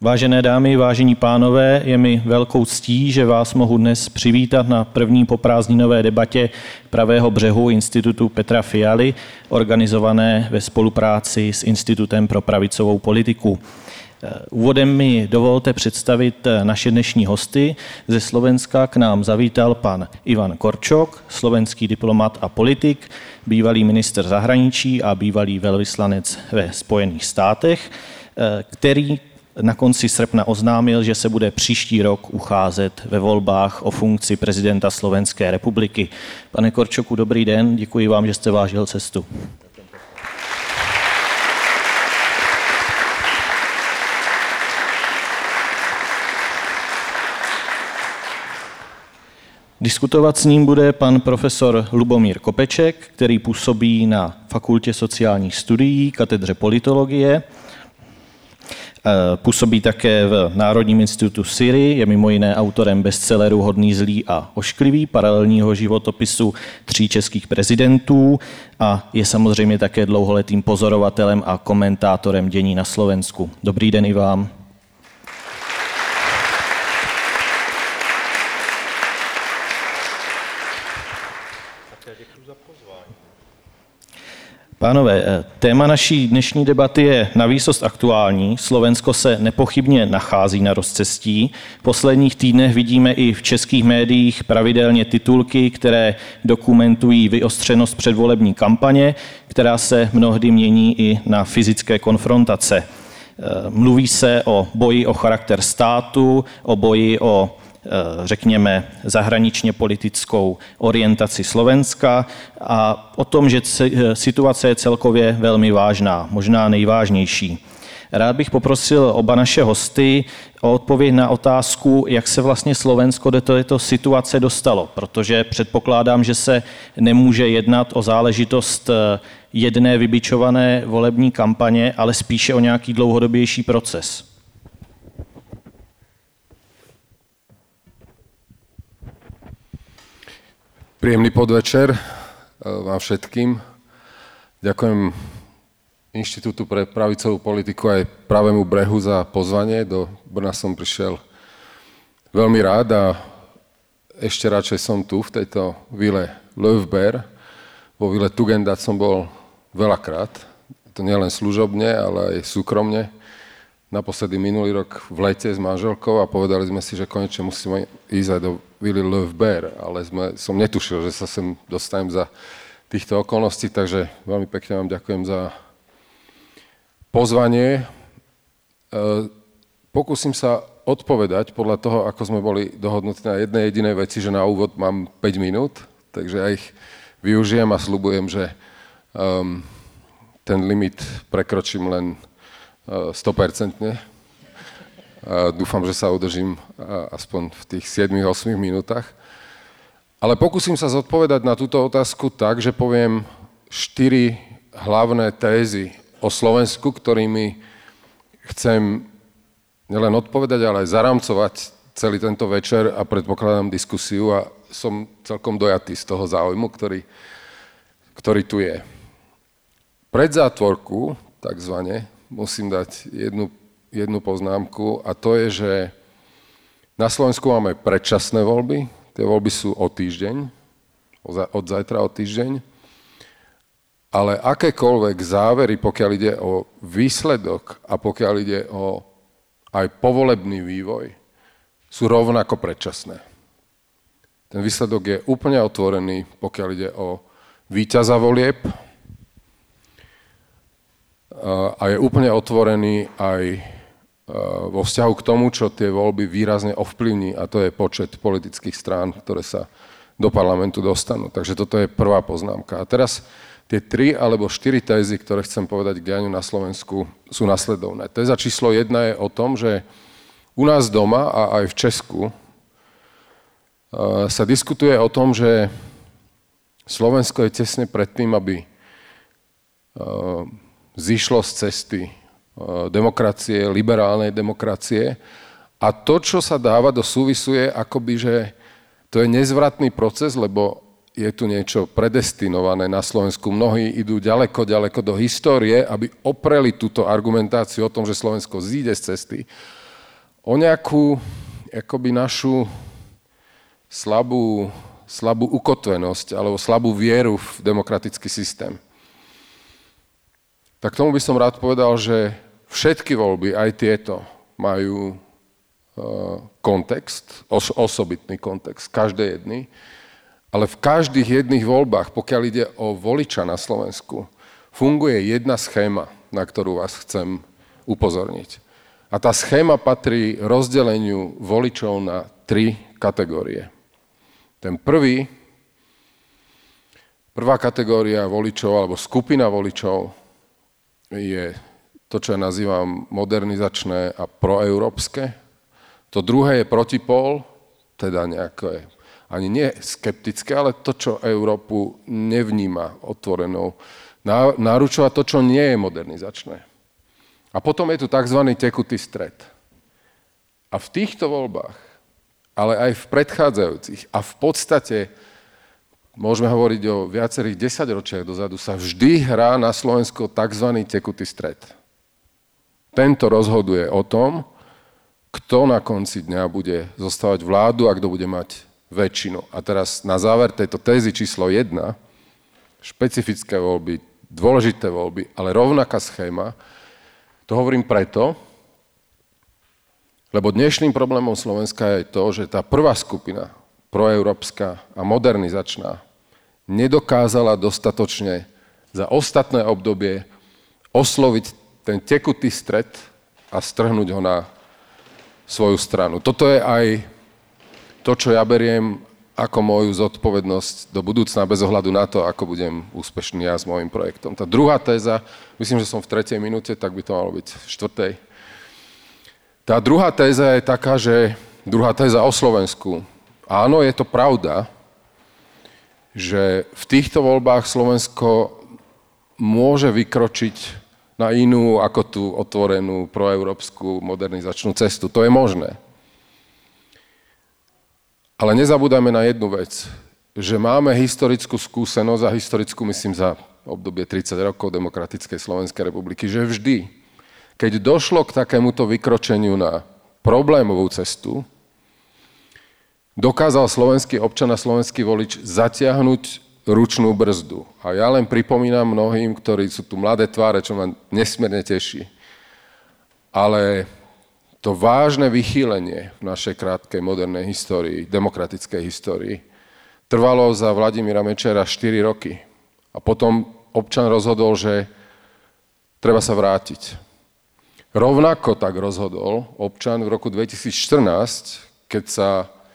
Vážené dámy, vážení pánové, je mi velkou ctí, že vás mohu dnes přivítat na první poprázdninové debatě Pravého břehu Institutu Petra Fialy, organizované ve spolupráci s Institutem pro pravicovou politiku. Úvodem mi dovolte představit naše dnešní hosty. Ze Slovenska k nám zavítal pan Ivan Korčok, slovenský diplomat a politik, bývalý ministr zahraničí a bývalý velvyslanec ve Spojených státech, který na konci srpna oznámil, že se bude příští rok ucházet ve volbách o funkci prezidenta Slovenské republiky. Pane Korčoku, dobrý den, děkuji vám, že jste vážil cestu. Diskutovat s ním bude pan profesor Lubomír Kopeček, který působí na Fakultě sociálních studií, katedře politologie. Působí také v Národním institutu Syrii, je mimo jiné autorem bestselleru Hodný, zlý a ošklivý, paralelního životopisu 3 českých prezidentů a je samozřejmě také dlouholetým pozorovatelem a komentátorem dění na Slovensku. Dobrý den i vám. Pánové, téma naší dnešní debaty je navýsost aktuální. Slovensko se nepochybně nachází na rozcestí. V posledních týdnech vidíme i v českých médiích pravidelně titulky, které dokumentují vyostřenost předvolební kampaně, která se mnohdy mění i na fyzické konfrontace. Mluví se o boji o charakter státu, o boji o řekněme, zahraničně politickou orientaci Slovenska a o tom, že situace je celkově velmi vážná, možná nejvážnější. Rád bych poprosil oba naše hosty o odpověď na otázku, jak se vlastně Slovensko do této situace dostalo, protože předpokládám, že se nemůže jednat o záležitost jedné vybičované volební kampaně, ale spíše o nějaký dlouhodobější proces. Príjemný podvečer vám všetkým. Ďakujem Inštitútu pre pravicovú politiku aj Pravému brehu za pozvanie. Do Brna som prišiel veľmi rád a ešte radšej som tu v tejto vile Löfberg. Vo vile Tugendhat som bol veľakrát. To nielen služobne, ale aj súkromne. Naposledy minulý rok v lete s manželkou a povedali sme si, že konečne musíme ísť aj do vily Löfberg, ale som netušil, že sa sem dostanem za týchto okolností, takže veľmi pekne vám ďakujem za pozvanie. Pokúsim sa odpovedať podľa toho, ako sme boli dohodnutí na jednej jedinej veci, že na úvod mám 5 minút, takže ja ich využijem a sľubujem, že ten limit prekročím len 100%. Dúfam, že sa udržím aspoň v tých 7-8 minútach. Ale pokúsim sa zodpovedať na túto otázku tak, že poviem 4 hlavné tézy o Slovensku, ktorými chcem nielen odpovedať, ale aj zaramcovať celý tento večer a predpokladám diskusiu a som celkom dojatý z toho záujmu, ktorý tu je. Pred zátvorku, takzvané, musím dať jednu poznámku a to je, že na Slovensku máme predčasné voľby. Tie voľby sú o týždeň, od zajtra o týždeň. Ale akékoľvek závery, pokiaľ ide o výsledok a pokiaľ ide o aj povolebný vývoj, sú rovnako predčasné. Ten výsledok je úplne otvorený, pokiaľ ide o víťaza volieb, a je úplne otvorený aj vo vzťahu k tomu, čo tie voľby výrazne ovplyvní, a to je počet politických strán, ktoré sa do parlamentu dostanú. Takže toto je prvá poznámka. A teraz tie 3 alebo 4 tézy, ktoré chcem povedať k dianiu na Slovensku, sú nasledovné. Téza číslo 1 je o tom, že u nás doma a aj v Česku sa diskutuje o tom, že Slovensko je tesne pred tým, aby zišlo z cesty demokracie, liberálnej demokracie. A to, čo sa dáva do súvisu, je akoby, že to je nezvratný proces, lebo je tu niečo predestinované na Slovensku. Mnohí idú ďaleko, ďaleko do histórie, aby opreli túto argumentáciu o tom, že Slovensko zíde z cesty. o nejakú akoby našu slabú ukotvenosť alebo slabú vieru v demokratický systém. Tak tomu by som rád povedal, že všetky voľby, aj tieto, majú kontext, osobitný kontext, každé jedny, ale v každých jedných voľbách, pokiaľ ide o voliča na Slovensku, funguje jedna schéma, na ktorú vás chcem upozorniť. A tá schéma patrí rozdeleniu voličov na 3 kategórie. Ten prvá kategória voličov alebo skupina voličov je to, čo ja nazývam modernizačné a proeurópske. To druhé je protipól, teda nejaké, ani nie skeptické, ale to, čo Európu nevníma otvorenou. Náručovať to, čo nie je modernizačné. A potom je tu tzv. Tekutý stred. A v týchto voľbách, ale aj v predchádzajúcich a v podstate, môžeme hovoriť o viacerých 10 ročiach dozadu, sa vždy hrá na Slovensku tzv. Tekutý stred. Tento rozhoduje o tom, kto na konci dňa bude zostávať vládu a kto bude mať väčšinu. A teraz na záver tejto tézy číslo 1, špecifické voľby, dôležité voľby, ale rovnaká schéma, to hovorím preto, lebo dnešným problémom Slovenska je to, že tá prvá skupina, proeurópska a modernizačná, nedokázala dostatočne za ostatné obdobie osloviť ten tekutý stred a strhnúť ho na svoju stranu. Toto je aj to, čo ja beriem ako moju zodpovednosť do budúcna, bez ohľadu na to, ako budem úspešný ja s môjim projektom. Tá druhá téza, myslím, že som v 3. minúte, tak by to malo byť v 4. Tá druhá téza je taká, že druhá téza o Slovensku. Áno, je to pravda, že v týchto voľbách Slovensko môže vykročiť na inú ako tú otvorenú proeurópsku modernizačnú cestu. To je možné. Ale nezabúdame na jednu vec, že máme historickú skúsenosť a historickú, myslím, za obdobie 30 rokov demokratickej Slovenskej republiky, že vždy, keď došlo k takémuto vykročeniu na problémovú cestu, dokázal slovenský občan a slovenský volič zatiahnuť ručnú brzdu. A ja len pripomínam mnohým, ktorí sú tu mladé tváre, čo ma nesmierne teší. Ale to vážne vychýlenie v našej krátkej modernej histórii, demokratickej histórii, trvalo za Vladimíra Mečiara 4 roky. A potom občan rozhodol, že treba sa vrátiť. Rovnako tak rozhodol občan v roku 2014, keď sa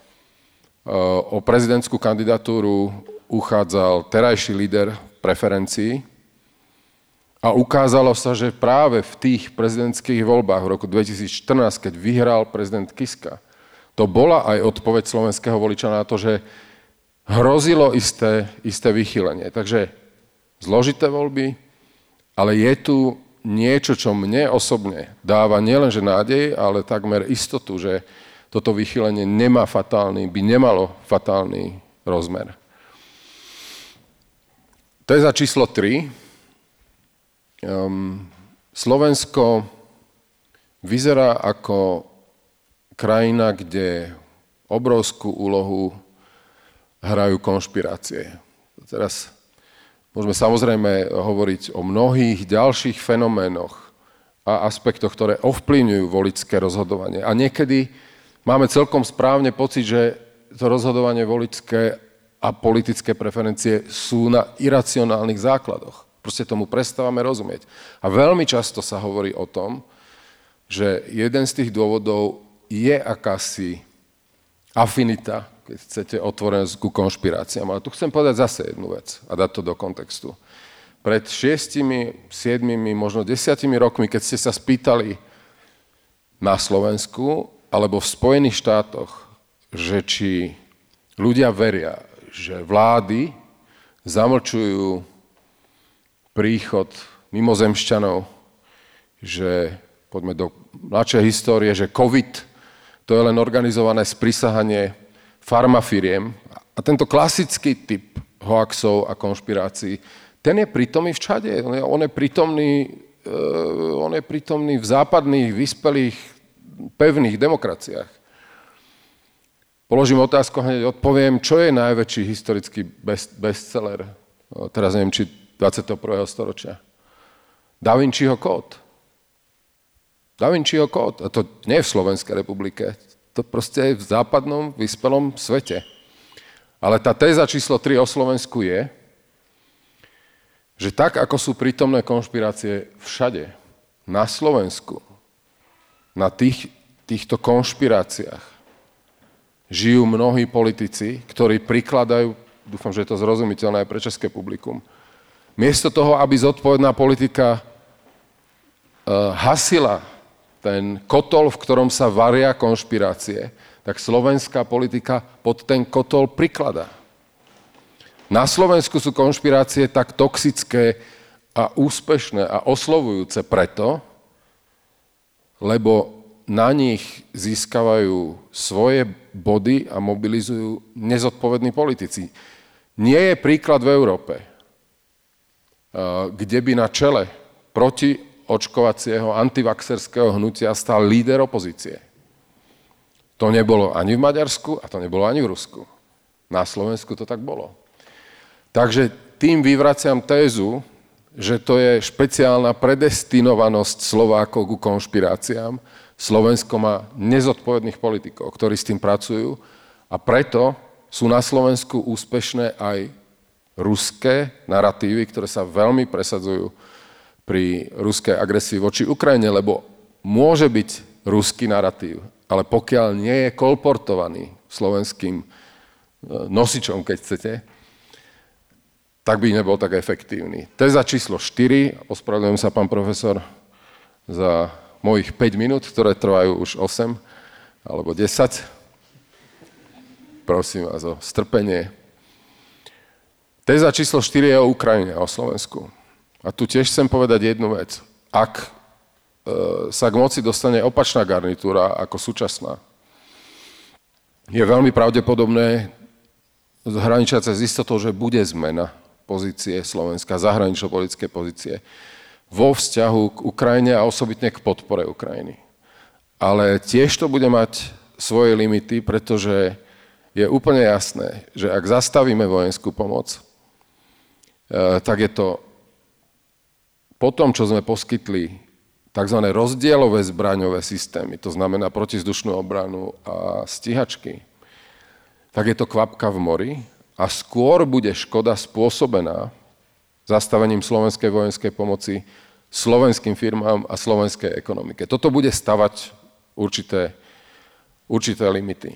o prezidentskú kandidatúru uchádzal terajší líder preferencií a ukázalo sa, že práve v tých prezidentských voľbách v roku 2014, keď vyhral prezident Kiska, to bola aj odpoveď slovenského voliča na to, že hrozilo isté vychýlenie. Takže zložité voľby, ale je tu niečo, čo mne osobne dáva nielenže nádej, ale takmer istotu, že toto vychýlenie by nemalo fatálny rozmer. Téza číslo 3. Slovensko vyzerá ako krajina, kde obrovskú úlohu hrajú konšpirácie. Teraz môžeme samozrejme hovoriť o mnohých ďalších fenoménoch a aspektoch, ktoré ovplyvňujú voličské rozhodovanie. A niekedy máme celkom správne pocit, že to rozhodovanie voličské a politické preferencie sú na iracionálnych základoch. Proste tomu prestávame rozumieť. A veľmi často sa hovorí o tom, že jeden z tých dôvodov je akási afinita, keď chcete, otvorenosť ku konšpiráciám. Ale tu chcem povedať zase jednu vec a dať to do kontextu. Pred 6, 7, možno 10 rokmi, keď ste sa spýtali na Slovensku alebo v Spojených štátoch, že či ľudia veria, že vlády zamlčujú príchod mimozemšťanov, že poďme do mladšej histórie, že COVID to je len organizované sprisahanie farmafiriem. A tento klasický typ hoaxov a konšpirácií, ten je prítomný všade. On je prítomný v západných, vyspelých pevných demokraciách. Položím otázku, hneď odpoviem, čo je najväčší historický bestseller, teraz neviem, či 21. storočia. Da Vinciho kód. Da Vinciho kód. A to nie je v Slovenskej republike. To proste je v západnom, vyspelom svete. Ale tá téza číslo 3 o Slovensku je, že tak, ako sú prítomné konšpirácie všade, na Slovensku, na týchto konšpiráciách, žijú mnohí politici, ktorí prikladajú, dúfam, že je to zrozumiteľné aj pre české publikum, miesto toho, aby zodpovedná politika hasila ten kotol, v ktorom sa varia konšpirácie, tak slovenská politika pod ten kotol prikladá. Na Slovensku sú konšpirácie tak toxické a úspešné a oslovujúce preto, lebo na nich získavajú svoje body a mobilizujú nezodpovední politici. Nie je príklad v Európe, kde by na čele protiočkovacieho antivaxerského hnutia stal líder opozície. To nebolo ani v Maďarsku a to nebolo ani v Rusku. Na Slovensku to tak bolo. Takže tým vyvraciam tézu, že to je špeciálna predestinovanosť Slovákov ku konšpiráciám. Slovensko má nezodpovedných politikov, ktorí s tým pracujú a preto sú na Slovensku úspešné aj ruské naratívy, ktoré sa veľmi presadzujú pri ruskej agresii voči Ukrajine, lebo môže byť ruský naratív, ale pokiaľ nie je kolportovaný slovenským nosičom, keď chcete, tak by nebol tak efektívny. Téza číslo 4, ospravedlňujem sa, pán profesor, za mojich 5 minút, ktoré trvajú už 8 alebo 10. Prosím vás o strpenie. Téza číslo 4 je o Ukrajine a o Slovensku. A tu tiež chcem povedať jednu vec. Ak sa k moci dostane opačná garnitúra ako súčasná, je veľmi pravdepodobné, hraničiace s istotou, že bude zmena pozície Slovenska, zahranično-politické pozície vo vzťahu k Ukrajine a osobitne k podpore Ukrajiny. Ale tiež to bude mať svoje limity, pretože je úplne jasné, že ak zastavíme vojenskú pomoc, tak je to po tom, čo sme poskytli tzv. Rozdielové zbraňové systémy, to znamená protizdušnú obranu a stíhačky, tak je to kvapka v mori a skôr bude škoda spôsobená zastavením slovenskej vojenskej pomoci slovenským firmám a slovenskej ekonomike. Toto bude stavať určité limity.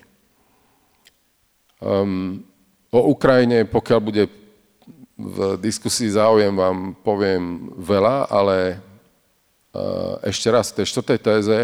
O Ukrajine, pokiaľ bude v diskusii záujem, vám poviem veľa, ale ešte raz, v tej 4. téze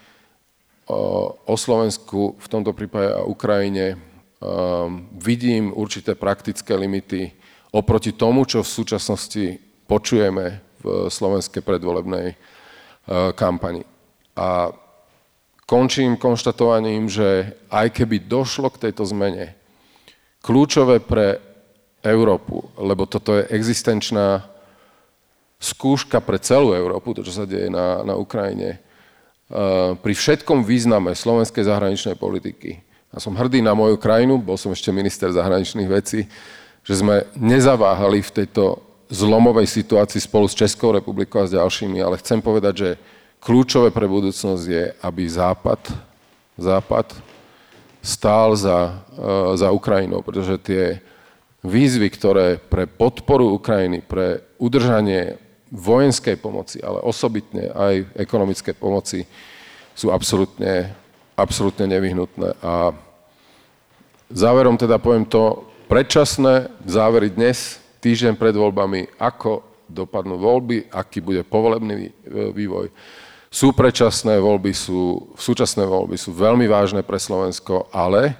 o Slovensku, v tomto prípade a Ukrajine, vidím určité praktické limity oproti tomu, čo v súčasnosti počujeme v slovenskej predvolebnej kampani. A končím konštatovaním, že aj keby došlo k tejto zmene, kľúčové pre Európu, lebo toto je existenčná skúška pre celú Európu, to, čo sa deje na Ukrajine, pri všetkom význame slovenskej zahraničnej politiky. Ja som hrdý na moju krajinu, bol som ešte minister zahraničných vecí, že sme nezaváhali v tejto zlomovej situácii spolu s Českou republikou a s ďalšími, ale chcem povedať, že kľúčové pre budúcnosť je, aby Západ stál za Ukrajinou, pretože tie výzvy, ktoré pre podporu Ukrajiny, pre udržanie vojenskej pomoci, ale osobitne aj ekonomickej pomoci, sú absolútne nevyhnutné. A záverom teda poviem to, predčasné závery dnes, týždeň pred voľbami, ako dopadnú voľby, aký bude povolebný vývoj. Sú predčasné voľby, súčasné voľby sú veľmi vážne pre Slovensko, ale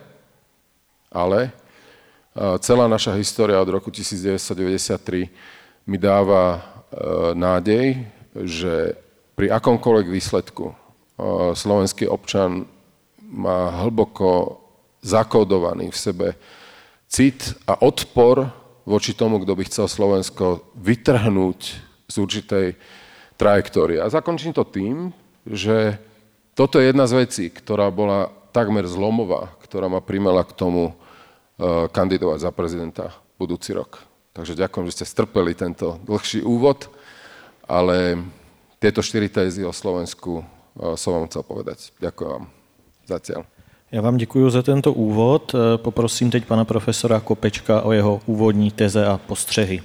celá naša história od roku 1993 mi dáva nádej, že pri akomkoľvek výsledku slovenský občan má hlboko zakódovaný v sebe cit a odpor voči tomu, kto by chcel Slovensko vytrhnúť z určitej trajektórie. A zakončím to tým, že toto je jedna z vecí, ktorá bola takmer zlomová, ktorá ma primela k tomu kandidovať za prezidenta budúci rok. Takže ďakujem, že ste strpeli tento dlhší úvod, ale tieto 4 tézy o Slovensku som vám chcel povedať. Ďakujem vám zatiaľ. Já vám děkuji za tento úvod. Poprosím teď pana profesora Kopečka o jeho úvodní teze a postřehy.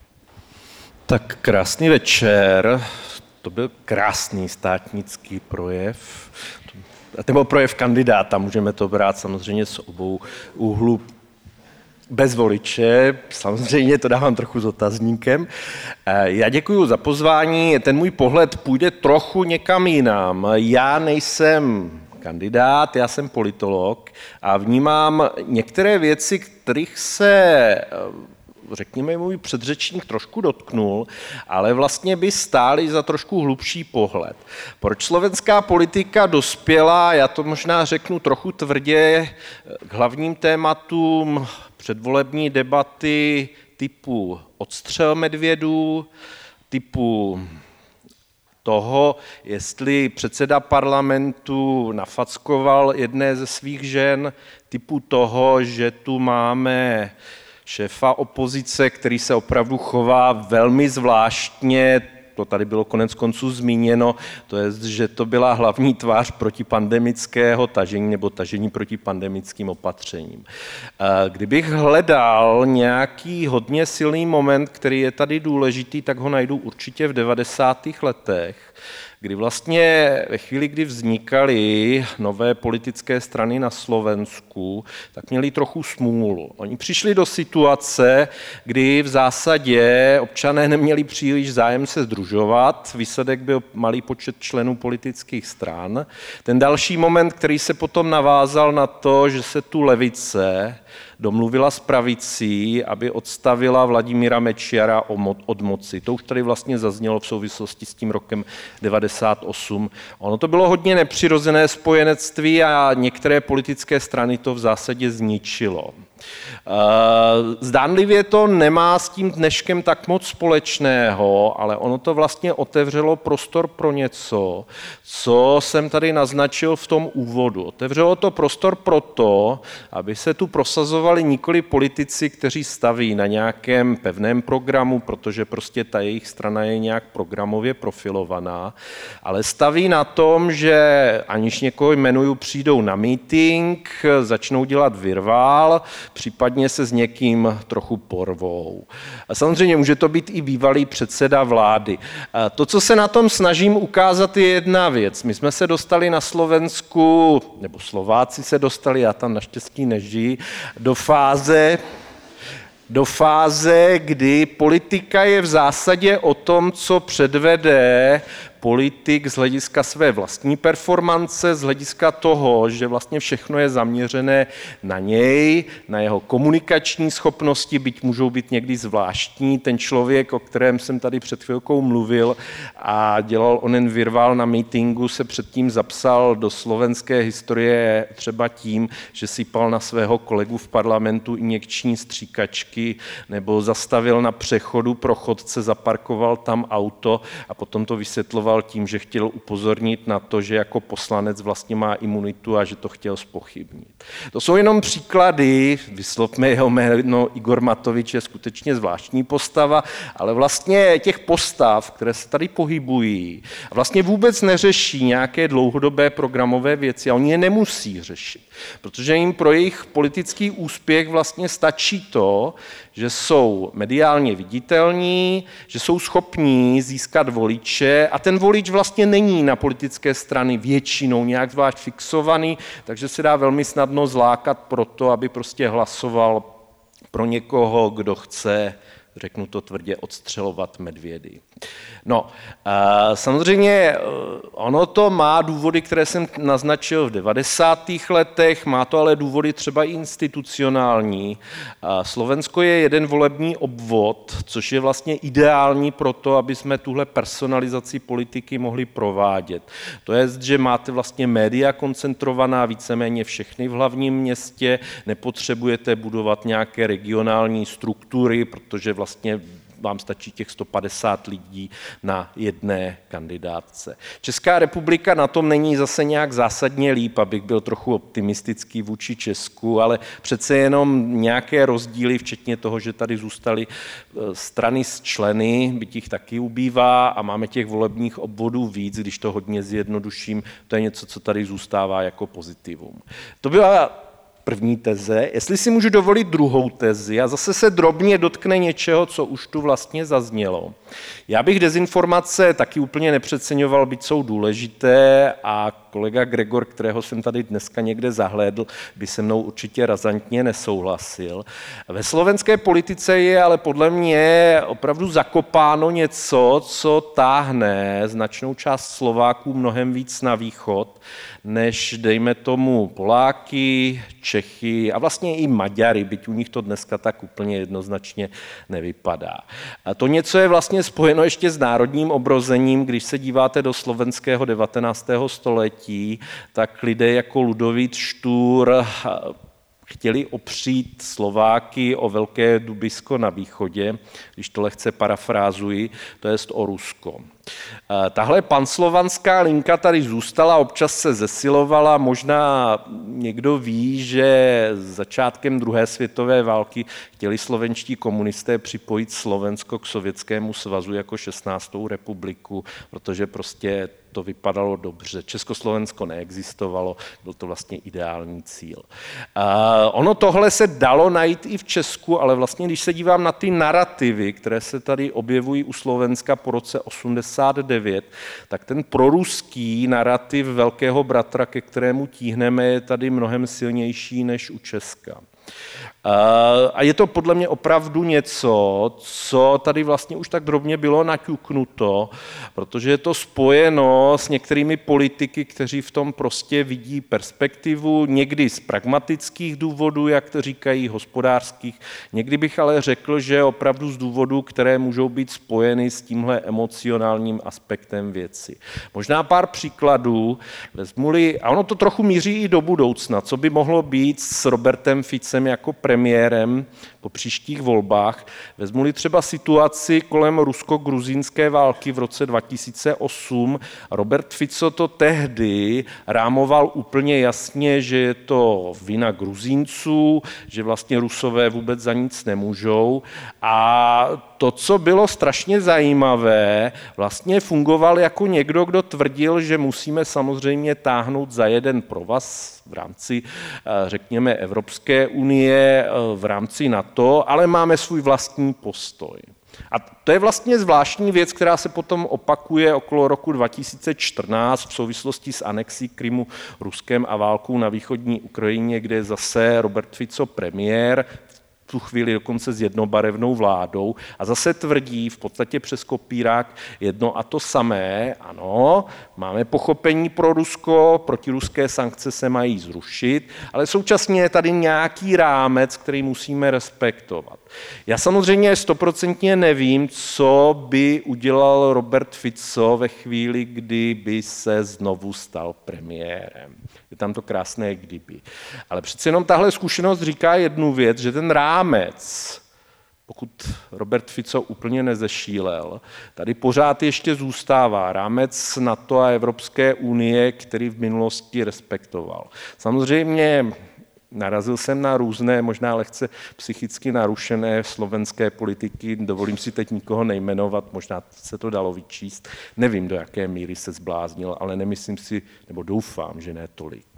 Tak krásný večer. To byl krásný státnický projev. Nebo projev kandidáta, můžeme to brát samozřejmě z obou úhlů. Bez voliče, samozřejmě to dávám trochu s otazníkem. Já děkuji za pozvání, ten můj pohled půjde trochu někam jinam. Já nejsem kandidát, já jsem politolog a vnímám některé věci, kterých se, řekněme, můj předřečník trošku dotknul, ale vlastně by stály za trošku hlubší pohled. Proč slovenská politika dospěla, já to možná řeknu trochu tvrdě, k hlavním tématům předvolební debaty typu odstřel medvědů, typu toho, jestli předseda parlamentu nafackoval jedné ze svých žen, typu toho, že tu máme šéfa opozice, který se opravdu chová velmi zvláštně, to tady bylo konec konců zmíněno, to je, že to byla hlavní tvář protipandemického tažení nebo tažení proti pandemickým opatřením. Kdybych hledal nějaký hodně silný moment, který je tady důležitý, tak ho najdu určitě v 90. letech, kdy vlastně ve chvíli, kdy vznikaly nové politické strany na Slovensku, tak měli trochu smůlu. Oni přišli do situace, kdy v zásadě občané neměli příliš zájem se sdružovat, výsledek byl malý počet členů politických stran. Ten další moment, který se potom navázal na to, že se tu levice domluvila s pravicí, aby odstavila Vladimíra Mečiara od moci. To už tady vlastně zaznělo v souvislosti s tím rokem 98. Ono to bylo hodně nepřirozené spojenectví a některé politické strany to v zásadě zničilo. Zdánlivě to nemá s tím dneškem tak moc společného, ale ono to vlastně otevřelo prostor pro něco, co jsem tady naznačil v tom úvodu. Otevřelo to prostor pro to, aby se tu prosazovali nikoli politici, kteří staví na nějakém pevném programu, protože prostě ta jejich strana je nějak programově profilovaná, ale staví na tom, že aniž někoho jmenuju, přijdou na meeting, začnou dělat virvál, případně se s někým trochu porvou. A samozřejmě může to být i bývalý předseda vlády. A to, co se na tom snažím ukázat, je jedna věc. My jsme se dostali na Slovensku, nebo Slováci se dostali, já tam naštěstí nežijí, do fáze, kdy politika je v zásadě o tom, co předvede politik z hlediska své vlastní performance, z hlediska toho, že vlastně všechno je zaměřené na něj, na jeho komunikační schopnosti, byť můžou být někdy zvláštní. Ten člověk, o kterém jsem tady před chvilkou mluvil a dělal onen virvál na meetingu, se předtím zapsal do slovenské historie třeba tím, že sypal na svého kolegu v parlamentu injekční stříkačky nebo zastavil na přechodu pro chodce, zaparkoval tam auto a potom to vysvětloval tím, že chtěl upozornit na to, že jako poslanec vlastně má imunitu a že to chtěl zpochybnit. To jsou jenom příklady, vyslovme jeho jméno, Igor Matovič je skutečně zvláštní postava, ale vlastně těch postav, které se tady pohybují, vlastně vůbec neřeší nějaké dlouhodobé programové věci a oni je nemusí řešit, protože jim pro jejich politický úspěch vlastně stačí to, že jsou mediálně viditelní, že jsou schopní získat voliče a ten volič vlastně není na politické strany většinou nějak zvlášť fixovaný, takže se dá velmi snadno zlákat pro to, aby prostě hlasoval pro někoho, kdo chce, řeknu to tvrdě, odstřelovat medvědy. No, samozřejmě ono to má důvody, které jsem naznačil v 90. letech, má to ale důvody třeba i institucionální. Slovensko je jeden volební obvod, což je vlastně ideální pro to, aby jsme tuhle personalizaci politiky mohli provádět. To je, že máte vlastně média koncentrovaná víceméně všechny v hlavním městě, nepotřebujete budovat nějaké regionální struktury, protože vlastně vám stačí těch 150 lidí na jedné kandidátce. Česká republika na tom není zase nějak zásadně líp, abych byl trochu optimistický vůči Česku, ale přece jenom nějaké rozdíly, včetně toho, že tady zůstaly strany s členy, byť jich taky ubývá a máme těch volebních obvodů víc, když to hodně zjednoduším, to je něco, co tady zůstává jako pozitivum. To byla první teze. Jestli si můžu dovolit druhou tezi a zase se drobně dotkne něčeho, co už tu vlastně zaznělo. Já bych dezinformace taky úplně nepřeceňoval, byť jsou důležité a kolega Gregor, kterého jsem tady dneska někde zahlédl, by se mnou určitě razantně nesouhlasil. Ve slovenské politice je ale podle mě opravdu zakopáno něco, co táhne značnou část Slováků mnohem víc na východ, než dejme tomu Poláky, Čechy a vlastně i Maďary, byť u nich to dneska tak úplně jednoznačně nevypadá. A to něco je vlastně spojeno ještě s národním obrozením, když se díváte do slovenského 19. století, tak lidé jako Ludovít Štúr chtěli opřít Slováky o Velké Dubisko na východě, když to lehce parafrázuji, to jest o Rusko. Tahle panslovanská linka tady zůstala, občas se zesilovala, možná někdo ví, že začátkem druhé světové války chtěli slovenští komunisté připojit Slovensko k Sovětskému svazu jako 16. republiku, protože prostě to vypadalo dobře. Československo neexistovalo, byl to vlastně ideální cíl. Ono tohle se dalo najít i v Česku, ale vlastně, když se dívám na ty narrativy, které se tady objevují u Slovenska po roce 89, tak ten proruský narrativ Velkého bratra, ke kterému tíhneme, je tady mnohem silnější než u Česka. A je to podle mě opravdu něco, co tady vlastně už tak drobně bylo naťuknuto, protože je to spojeno s některými politiky, kteří v tom prostě vidí perspektivu, někdy z pragmatických důvodů, jak to říkají, hospodářských, někdy bych ale řekl, že opravdu z důvodů, které můžou být spojeny s tímhle emocionálním aspektem věci. Možná pár příkladů, vezmu-li, a ono to trochu míří i do budoucna, co by mohlo být s Robertem Ficem jako premiérem po příštích volbách. Vezmu-li třeba situaci kolem rusko-gruzínské války v roce 2008. Robert Fico to tehdy rámoval úplně jasně, že je to vina Gruzínců, že vlastně Rusové vůbec za nic nemůžou. A to, co bylo strašně zajímavé, vlastně fungoval jako někdo, kdo tvrdil, že musíme samozřejmě táhnout za jeden provaz v rámci, řekněme, Evropské unie, v rámci NATO, ale máme svůj vlastní postoj. A to je vlastně zvláštní věc, která se potom opakuje okolo roku 2014 v souvislosti s anexí Krymu Ruskem a válkou na východní Ukrajině, kde je zase Robert Fico premiér, v tu chvíli dokonce s jednobarevnou vládou a zase tvrdí v podstatě přes kopírák jedno a to samé. Ano, máme pochopení pro Rusko, protiruské sankce se mají zrušit, ale současně je tady nějaký rámec, který musíme respektovat. Já samozřejmě 100% nevím, co by udělal Robert Fico ve chvíli, kdy by se znovu stal premiérem. Je tam to krásné kdyby. Ale přece jenom tahle zkušenost říká jednu věc, že ten rámec, pokud Robert Fico úplně nezešílel, tady pořád ještě zůstává rámec NATO a Evropské unie, který v minulosti respektoval. Samozřejmě narazil jsem na různé, možná lehce psychicky narušené slovenské politiky, dovolím si teď nikoho nejmenovat, možná se to dalo vyčíst, nevím, do jaké míry se zbláznil, ale nemyslím si, nebo doufám, že ne tolik.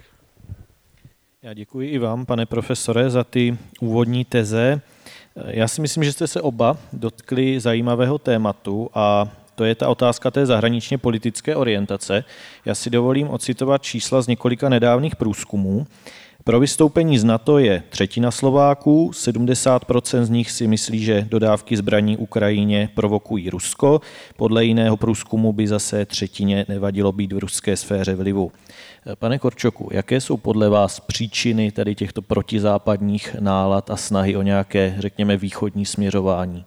Já děkuji i vám, pane profesore, za ty úvodní teze. Já si myslím, že jste se oba dotkli zajímavého tématu a to je ta otázka té zahraničně politické orientace. Já si dovolím ocitovat čísla z několika nedávných průzkumů. Pro vystoupení z NATO je třetina Slováků, 70% z nich si myslí, že dodávky zbraní Ukrajině provokují Rusko. Podle jiného průzkumu by zase třetině nevadilo být v ruské sféře vlivu. Pane Korčoku, jaké jsou podle vás příčiny tady těchto protizápadních nálad a snahy o nějaké, řekněme, východní směřování?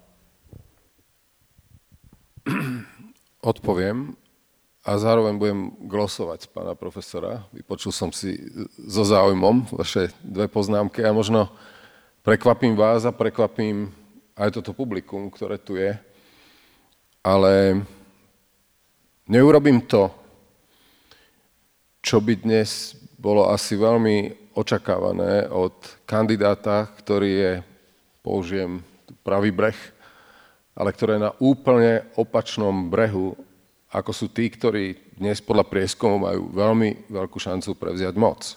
Odpoviem. A zároveň budem glosovať pána profesora. Vypočul som si so záujmom vaše dve poznámky a možno prekvapím vás a prekvapím aj toto publikum, ktoré tu je. ale neurobím to, čo by dnes bolo asi veľmi očakávané od kandidáta, ktorý je, použijem pravý breh, ale ktorý je na úplne opačnom brehu, ako sú tí, ktorí dnes podľa prieskumov majú veľmi veľkú šancu prevziať moc.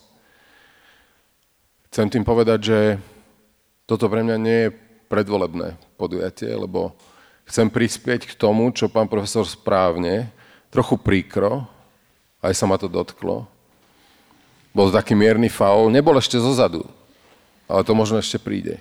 Chcem tým povedať, že toto pre mňa nie je predvolebné podujatie, lebo chcem prispieť k tomu, čo pán profesor správne, trochu príkro, aj sa ma to dotklo. Bol taký mierny faul, nebol ešte zozadu, ale to možno ešte príde.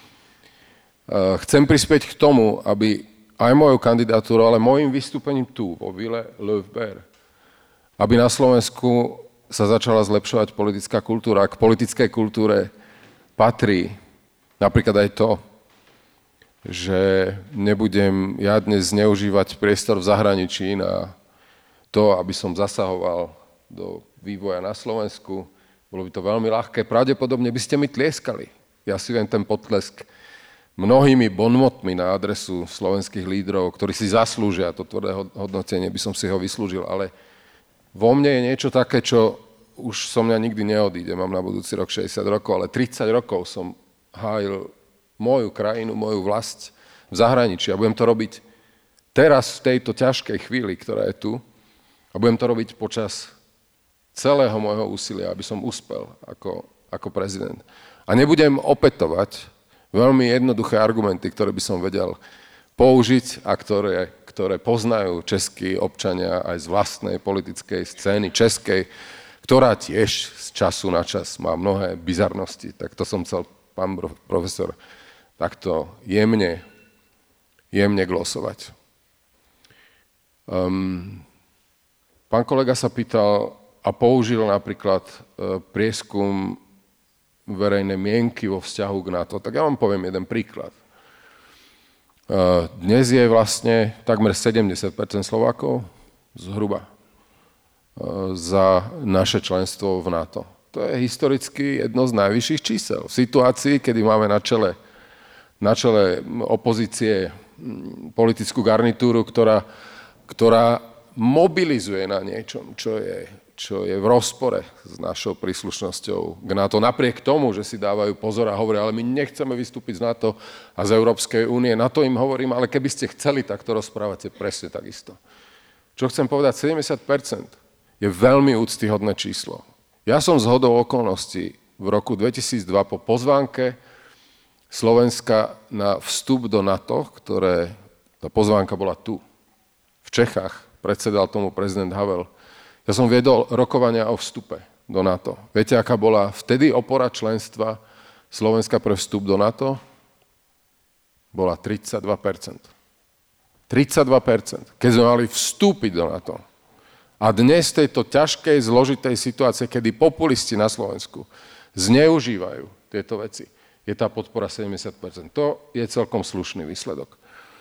Chcem prispieť k tomu, aby aj mojou kandidatúrou, ale môjim vystúpením tu, vo Ville Löwber, aby na Slovensku sa začala zlepšovať politická kultúra. K politickej kultúre patrí napríklad aj to, že nebudem ja dnes zneužívať priestor v zahraničí na to, aby som zasahoval do vývoja na Slovensku. Bolo by to veľmi ľahké. Pravdepodobne by ste mi tlieskali. Ja si viem ten potlesk mnohými bonmotmi na adresu slovenských lídrov, ktorí si zaslúžia to tvrdé hodnotenie, by som si ho vyslúžil. Ale vo mne je niečo také, čo už so mňa nikdy neodíde. Mám na budúci rok 60 rokov, ale 30 rokov som hájil moju krajinu, moju vlast v zahraničí. A budem to robiť teraz v tejto ťažkej chvíli, ktorá je tu. A budem to robiť počas celého môjho úsilia, aby som uspel ako prezident. A nebudem opätovať veľmi jednoduché argumenty, ktoré by som vedel použiť a ktoré poznajú českí občania aj z vlastnej politickej scény českej, ktorá tiež z času na čas má mnohé bizarnosti. Tak to som chcel, pán profesor, takto jemne glosovať. Pán kolega sa pýtal a použil napríklad prieskum verejnej mienky vo vzťahu k NATO. Tak ja vám poviem jeden príklad. Dnes je vlastne takmer 70% Slovákov zhruba za naše členstvo v NATO. To je historicky jedno z najvyšších čísel. V situácii, kedy máme na čele opozície politickú garnitúru, ktorá mobilizuje na niečom, čo je v rozpore s našou príslušnosťou k NATO. Napriek tomu, že si dávajú pozor a hovoria, ale my nechceme vystúpiť z NATO a z Európskej únie. Na to im hovorím, ale keby ste chceli, tak to rozprávate presne takisto. Čo chcem povedať, 70% je veľmi úctyhodné číslo. Ja som zhodou okolností v roku 2002 po pozvánke Slovenska na vstup do NATO, tá pozvánka bola tu, v Čechách, predsedal tomu prezident Havel. Ja som viedol rokovania o vstupe do NATO. Viete, aká bola vtedy opora členstva Slovenska pre vstup do NATO? Bola 32%. 32%, keď sme mali vstúpiť do NATO. A dnes v tejto ťažkej, zložitej situácie, kedy populisti na Slovensku zneužívajú tieto veci, je tá podpora 70%. To je celkom slušný výsledok.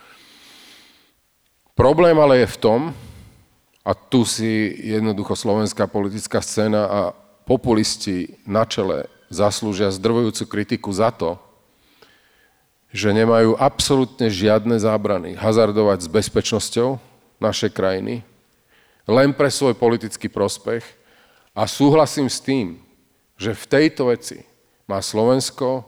Problém ale je v tom, a tu si jednoducho slovenská politická scéna a populisti na čele zaslúžia zdrvujúcu kritiku za to, že nemajú absolútne žiadne zábrany hazardovať s bezpečnosťou našej krajiny len pre svoj politický prospech. A súhlasím s tým, že v tejto veci má Slovensko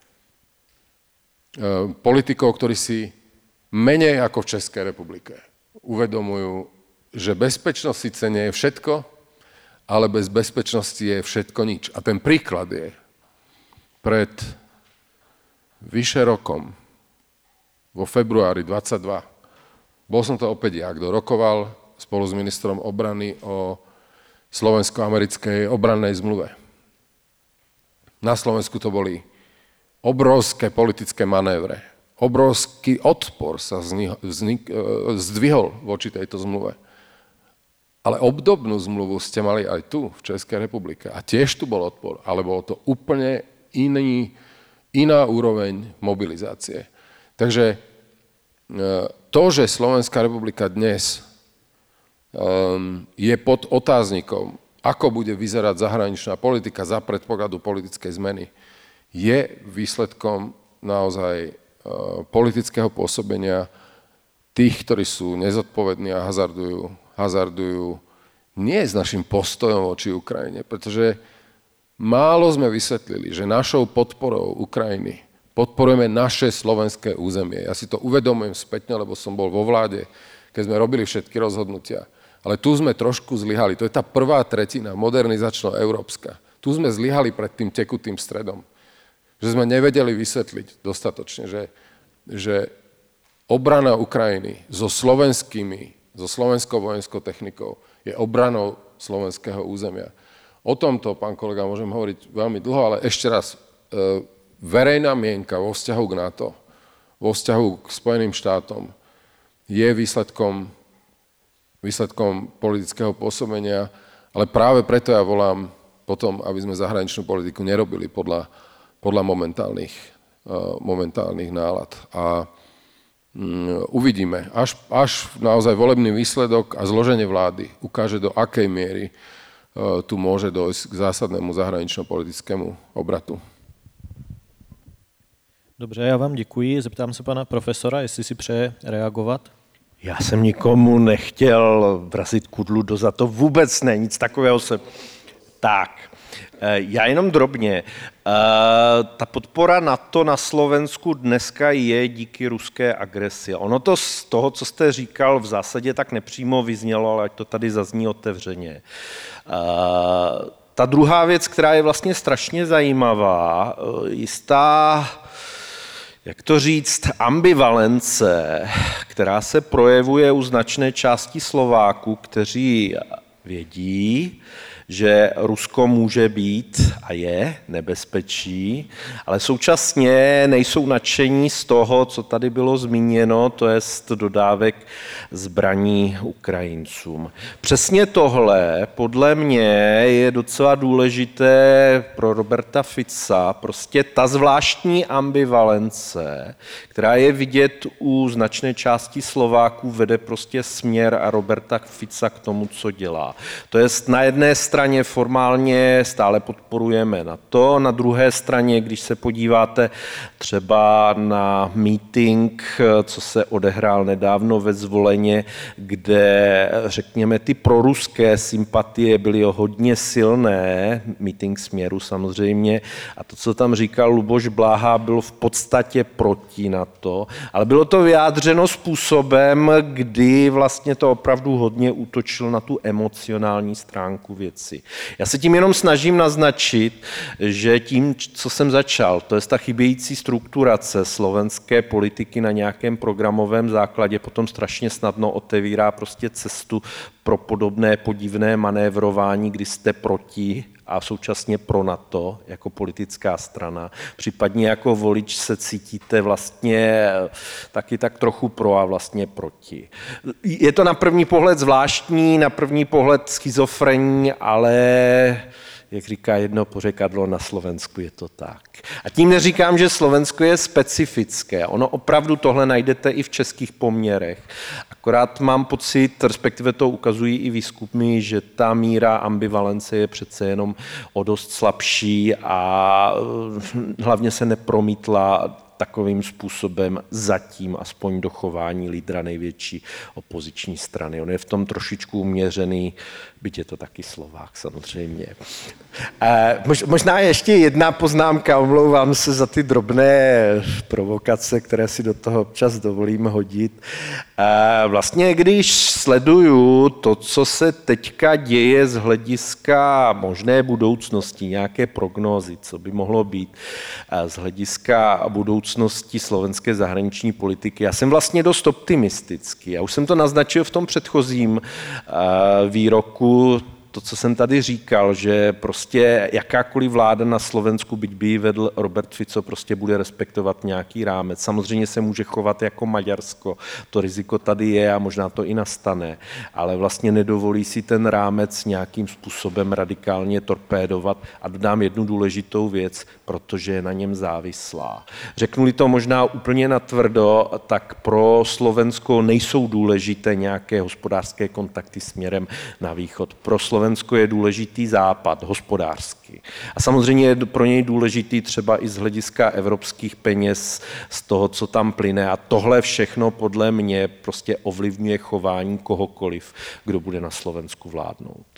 politikov, ktorí si menej ako v Českej republike uvedomujú, že bezpečnosť síce nie je všetko, ale bez bezpečnosti je všetko nič. A ten príklad je pred vyše rokom, vo februári 22, bol som to opäť ja, kto rokoval spolu s ministrom obrany o slovensko-americkej obrannej zmluve. Na Slovensku to boli obrovské politické manévre. Obrovský odpor sa zdvihol voči tejto zmluve. Ale obdobnú zmluvu ste mali aj tu, v Českej republike. A tiež tu bol odpor, ale bolo to úplne iná úroveň mobilizácie. Takže to, že Slovenská republika dnes je pod otáznikom, ako bude vyzerať zahraničná politika za predpokladu politickej zmeny, je výsledkom naozaj politického pôsobenia tých, ktorí sú nezodpovední a hazardujú nie s našim postojom voči Ukrajine, pretože málo sme vysvetlili, že našou podporou Ukrajiny podporujeme naše slovenské územie. Ja si to uvedomujem spätne, lebo som bol vo vláde, keď sme robili všetky rozhodnutia. Ale tu sme trošku zlyhali. To je tá prvá tretina modernizačno-európska. Tu sme zlyhali pred tým tekutým stredom. Že sme nevedeli vysvetliť dostatočne, že obrana Ukrajiny so slovenskou vojenskou technikou je obranou slovenského územia. O tomto, pán kolega, môžem hovoriť veľmi dlho, ale ešte raz, verejná mienka vo vzťahu k NATO, vo vzťahu k Spojeným štátom je výsledkom politického pôsobenia, ale práve preto ja volám potom, aby sme zahraničnú politiku nerobili podľa momentálnych nálad. A uvidíme, až naozaj volebný výsledok a zloženie vlády ukáže, do akej miery tu môže dojsť k zásadnému zahranično-politickému obratu. Dobře, já vám děkuji. Zeptám se pana profesora, jestli si přeje reagovat. Já jsem nikomu nechtěl vrazit kudlu do zad, to vůbec ne, nic takového se... Tak, já jenom drobně. Ta podpora NATO na Slovensku dneska je díky ruské agresi. Ono to z toho, co jste říkal, v zásadě tak nepřímo vyznělo, ale ať to tady zazní otevřeně. Ta druhá věc, která je vlastně strašně zajímavá, jistá, jak to říct, ambivalence, která se projevuje u značné části Slováků, kteří vědí, že Rusko může být a je nebezpečí, ale současně nejsou nadšení z toho, co tady bylo zmíněno, to jest dodávek zbraní Ukrajincům. Přesně tohle podle mě je docela důležité pro Roberta Fica, prostě ta zvláštní ambivalence, která je vidět u značné části Slováků, vede prostě směr a Roberta Fica k tomu, co dělá. To jest na jedné straně formálně stále podporujeme NATO, na druhé straně, když se podíváte třeba na meeting, co se odehrál nedávno ve Zvoleně, kde řekněme ty proruské sympatie byly hodně silné, meeting Směru samozřejmě, a to, co tam říkal Luboš Bláha, bylo v podstatě proti NATO, ale bylo to vyjádřeno způsobem, kdy vlastně to opravdu hodně útočilo na tu emocionální stránku věci. Já se tím jenom snažím naznačit, že tím, co jsem začal, to je ta chybějící strukturace slovenské politiky na nějakém programovém základě, potom strašně snadno otevírá prostě cestu pro podobné podivné manévrování, kdy jste proti a současně pro NATO jako politická strana. Případně jako volič se cítíte vlastně taky tak trochu pro a vlastně proti. Je to na první pohled zvláštní, na první pohled schizofrenní, ale jak říká jedno pořekadlo, na Slovensku je to tak. A tím neříkám, že Slovensko je specifické. Ono opravdu tohle najdete i v českých poměrech. Akorát mám pocit, respektive to ukazují i výzkumy, že ta míra ambivalence je přece jenom o dost slabší a hlavně se nepromítla takovým způsobem zatím aspoň do chování lídra největší opoziční strany. On je v tom trošičku uměřený, byť je to taky Slovák samozřejmě. Možná ještě jedna poznámka, omlouvám se za ty drobné provokace, které si do toho občas dovolím hodit. Vlastně když sleduju to, co se teďka děje z hlediska možné budoucnosti, nějaké prognózy, co by mohlo být z hlediska budoucnosti slovenské zahraniční politiky, já jsem vlastně dost optimistický. Já už jsem to naznačil v tom předchozím výroku, to, co jsem tady říkal, že prostě jakákoliv vláda na Slovensku, byť by ji vedl Robert Fico, prostě bude respektovat nějaký rámec. Samozřejmě se může chovat jako Maďarsko, to riziko tady je a možná to i nastane, ale vlastně nedovolí si ten rámec nějakým způsobem radikálně torpédovat a dodám jednu důležitou věc, protože je na něm závislá. Řeknu-li to možná úplně natvrdo, tak pro Slovensko nejsou důležité nějaké hospodářské kontakty směrem na východ. Pro Slovensko je důležitý Západ, hospodářský. A samozřejmě je pro něj důležitý třeba i z hlediska evropských peněz, z toho, co tam plyne. A tohle všechno podle mě prostě ovlivňuje chování kohokoliv, kdo bude na Slovensku vládnout.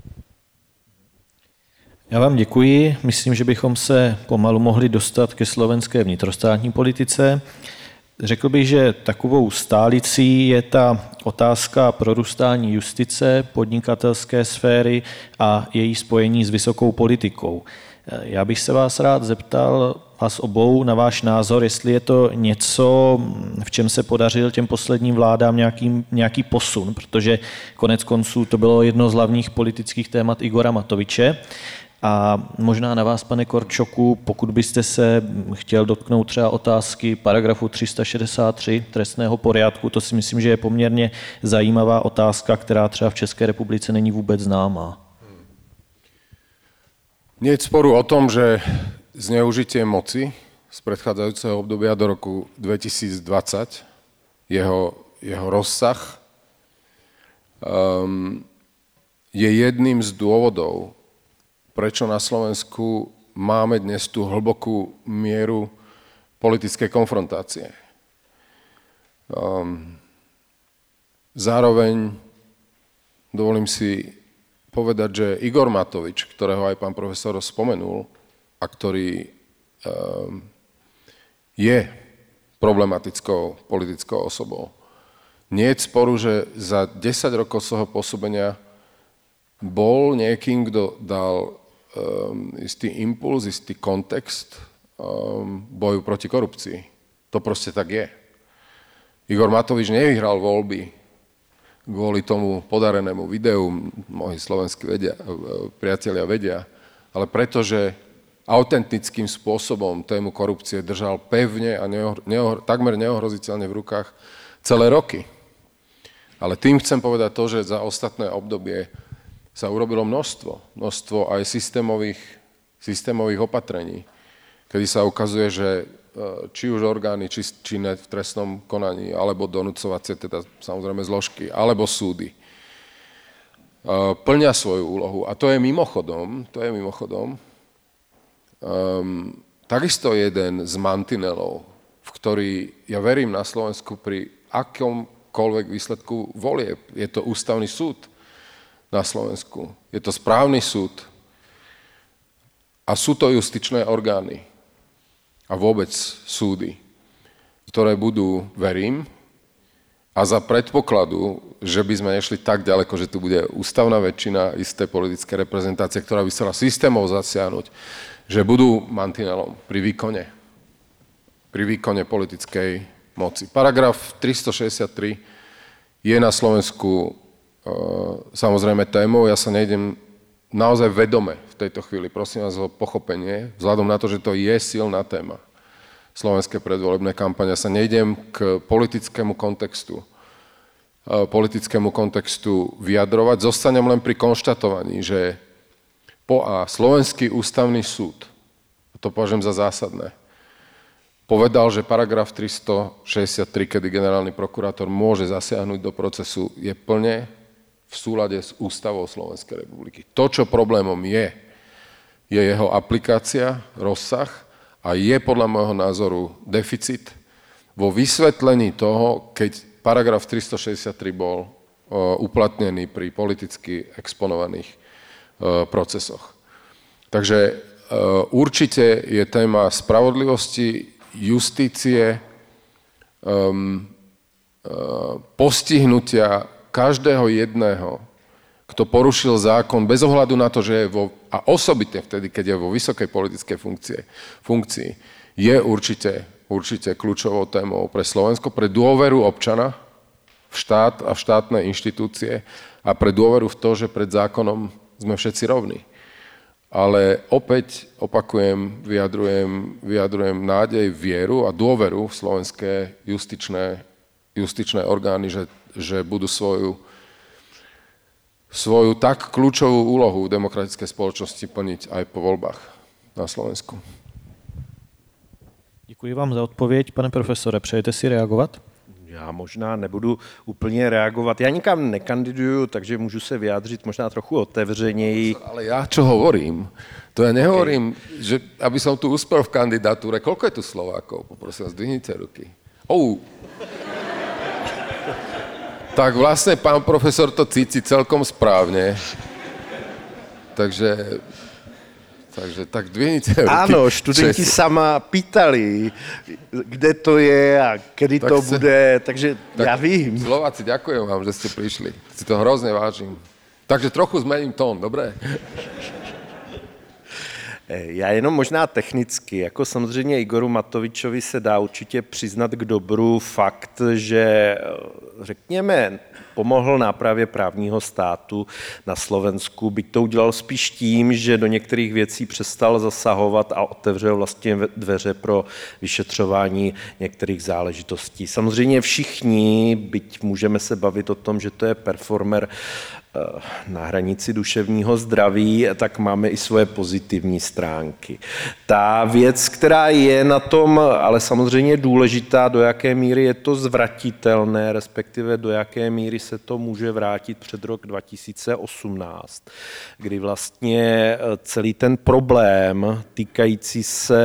Já vám děkuji. Myslím, že bychom se pomalu mohli dostat ke slovenské vnitrostátní politice. Řekl bych, že takovou stálicí je ta otázka prorůstání justice, podnikatelské sféry a její spojení s vysokou politikou. Já bych se vás rád zeptal, vás obou, na váš názor, jestli je to něco, v čem se podařil těm posledním vládám nějaký posun, protože konec konců to bylo jedno z hlavních politických témat Igora Matoviče. A možná na vás, pane Korčoku, pokud byste se chtěl dotknout třeba otázky paragrafu 363 trestného poriadku, to si myslím, že je poměrně zajímavá otázka, která třeba v České republice není vůbec známá. Nie je sporu o tom, že zneužitie moci z predchádzajúceho obdobia do roku 2020, jeho rozsah, je jedným z dôvodov, prečo na Slovensku máme dnes tú hlbokú mieru politickej konfrontácie. Zároveň dovolím si povedať, že Igor Matovič, ktorého aj pán profesor spomenul a ktorý je problematickou politickou osobou, nie je sporu, že za 10 rokov svojho pôsobenia bol niekým, kto dal istý impuls, istý kontext boju proti korupcii. To proste tak je. Igor Matovič nevyhral voľby kvôli tomu podarenému videu, moji slovenskí priatelia vedia, ale pretože autentickým spôsobom tému korupcie držal pevne a takmer neohroziteľne v rukách celé roky. Ale tým chcem povedať to, že za ostatné obdobie sa urobilo množstvo aj systémových opatrení, kedy sa ukazuje, že či už orgány činné v trestnom konaní, alebo donúcovacie, teda samozrejme zložky, alebo súdy, plnia svoju úlohu. A to je mimochodom takisto jeden z mantinelov, v ktorý ja verím na Slovensku pri akomkoľvek výsledku volieb. Je to ústavný súd na Slovensku. Je to správny súd a sú to justičné orgány a vôbec súdy, ktoré budú, verím, a za predpokladu, že by sme nešli tak ďaleko, že tu bude ústavná väčšina isté politické reprezentácie, ktorá by chcela systémov zasiahnuť, že budú mantinelom pri výkone politickej moci. Paragraf 363 je na Slovensku samozrejme témou. Ja sa nejdem naozaj vedome v tejto chvíli, prosím vás o pochopenie, vzhľadom na to, že to je silná téma slovenské predvolebné kampane, sa nejdem k politickému kontextu vyjadrovať. Zostanem len pri konštatovaní, že Slovenský ústavný súd, to považujem za zásadné, povedal, že paragraf 363, kedy generálny prokurátor môže zasiahnuť do procesu, je plne v súlade s ústavou Slovenskej republiky. To, čo problémom je jeho aplikácia, rozsah a je podľa môjho názoru deficit vo vysvetlení toho, keď paragraf 363 bol uplatnený pri politicky exponovaných procesoch. Takže určite je téma spravodlivosti, justície, postihnutia každého jedného, kto porušil zákon bez ohľadu na to, že je a osobitne vtedy, keď je vo vysokej politickej funkcii, je určite kľúčovou témou pre Slovensko, pre dôveru občana v štát a v štátne inštitúcie a pre dôveru v to, že pred zákonom sme všetci rovní. Ale opäť opakujem, vyjadrujem nádej, vieru a dôveru v slovenské justičné orgány, že budú svoju tak kľúčovú úlohu v demokratickej spoločnosti plniť aj po voľbách na Slovensku. Děkuji vám za odpověď. Pane profesore, přejete si reagovat? Já možná nebudu úplně reagovat. Já nikam nekandiduju, takže můžu se vyjádřit možná trochu otevřeněji. Ale já čo hovorím, to ja nehovorím, že aby som tu uspel v kandidatúre. Koľko je tu Slovákov? Poprosím vás, zdvihnite ruky. Tak vlastne pán profesor to cíti celkom správne. Takže tak dvihnite ruky. Áno, študenti sa ma pýtali, kde to je a kedy to bude, takže ja vím. Slováci, ďakujem vám, že ste prišli. Si to hrozne vážim. Takže trochu zmením tón, dobré? Já jenom možná technicky, jako samozřejmě Igoru Matovičovi se dá určitě přiznat k dobru fakt, že řekněme pomohl nápravě právního státu na Slovensku, byť to udělal spíš tím, že do některých věcí přestal zasahovat a otevřel vlastně dveře pro vyšetřování některých záležitostí. Samozřejmě všichni, byť můžeme se bavit o tom, že to je performer na hranici duševního zdraví, tak máme i svoje pozitivní stránky. Ta věc, která je na tom, ale samozřejmě důležitá, do jaké míry je to zvratitelné, respektive do jaké míry se to může vrátit před rok 2018, kdy vlastně celý ten problém týkající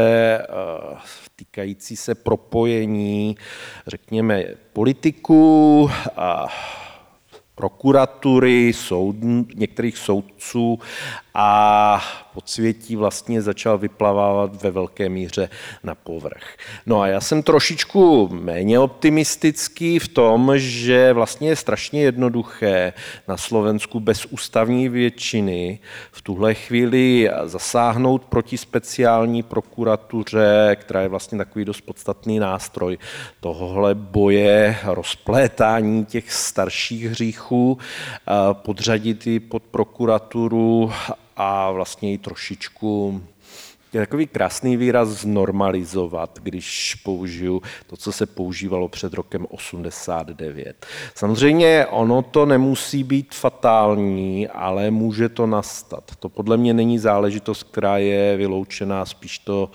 se propojení, řekněme, politiků a prokuratury, některých soudců a podsvětí vlastně začal vyplavávat ve velké míře na povrch. No a já jsem trošičku méně optimistický v tom, že vlastně je strašně jednoduché na Slovensku bez ústavní většiny v tuhle chvíli zasáhnout proti speciální prokuratuře, která je vlastně takový dost podstatný nástroj tohohle boje, rozplétání těch starších hříchů, podřadit ji pod prokuraturu a vlastně ji trošičku, je takový krásný výraz, znormalizovat, když použiju to, co se používalo před rokem 89. Samozřejmě ono to nemusí být fatální, ale může to nastat. To podle mě není záležitost, která je vyloučená, spíš to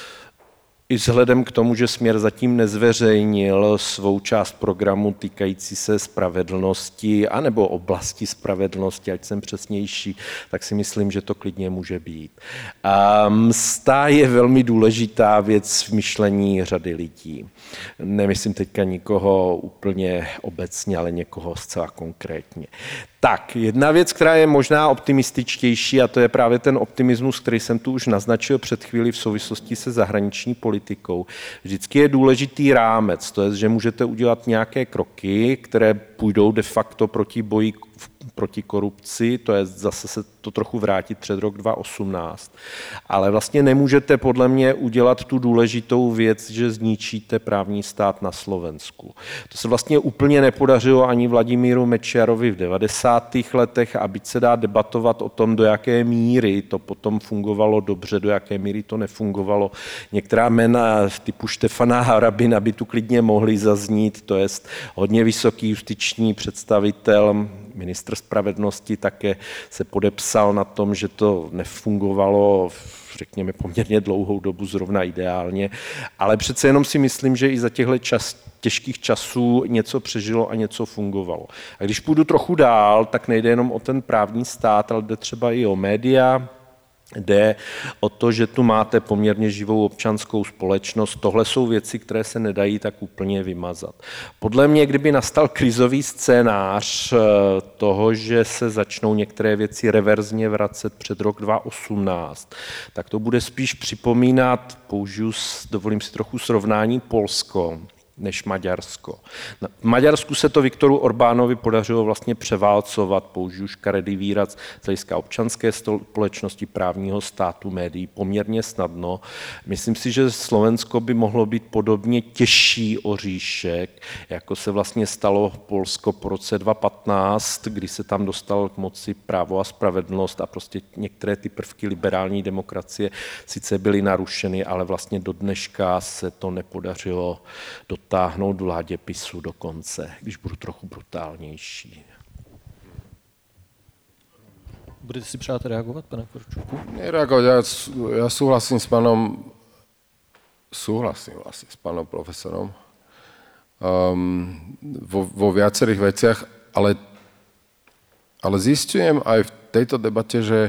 i vzhledem k tomu, že Směr zatím nezveřejnil svou část programu týkající se spravedlnosti anebo oblasti spravedlnosti, ať jsem přesnější, tak si myslím, že to klidně může být. A msta je velmi důležitá věc v myšlení řady lidí. Nemyslím teďka nikoho úplně obecně, ale někoho zcela konkrétně. Tak, jedna věc, která je možná optimističtější, a to je právě ten optimismus, který jsem tu už naznačil před chvílí v souvislosti se zahraniční politikou. Vždycky je důležitý rámec, to je, že můžete udělat nějaké kroky, které půjdou de facto proti boji proti korupci, to je zase se to trochu vrátit před rok 2018. Ale vlastně nemůžete podle mě udělat tu důležitou věc, že zničíte právní stát na Slovensku. To se vlastně úplně nepodařilo ani Vladimíru Mečiarovi v 90. letech a byť se dá debatovat o tom, do jaké míry to potom fungovalo dobře, do jaké míry to nefungovalo. Některá jména typu Štefana Harabina by tu klidně mohly zaznít, to je hodně vysoký justiční představitel, ministr spravedlnosti také se podepsal na tom, že to nefungovalo, řekněme, poměrně dlouhou dobu zrovna ideálně, ale přece jenom si myslím, že i za těchto těžkých časů něco přežilo a něco fungovalo. A když půjdu trochu dál, tak nejde jenom o ten právní stát, ale jde třeba i o média, jde o to, že tu máte poměrně živou občanskou společnost. Tohle jsou věci, které se nedají tak úplně vymazat. Podle mě, kdyby nastal krizový scénář toho, že se začnou některé věci reverzně vracet před rok 2018, tak to bude spíš připomínat, dovolím si trochu srovnání, Polsko než Maďarsko. V Maďarsku se to Viktoru Orbánovi podařilo vlastně převálcovat, použiju škaredý výraz, z hlediska občanské společnosti, právního státu, médií poměrně snadno. Myslím si, že Slovensko by mohlo být podobně těžší oříšek, jako se vlastně stalo Polsko po roce 2015, kdy se tam dostal k moci Právo a spravedlnost a prostě některé ty prvky liberální demokracie sice byly narušeny, ale vlastně do dneška se to nepodařilo dotáhnout vládě PiSu do konce, když budu trochu brutálnější. Budete si přát reagovat, pane Korčuku? Nereagovat, ja súhlasím s pánom profesorom, vo viacerých veciach, ale zistujem aj v tejto debate, že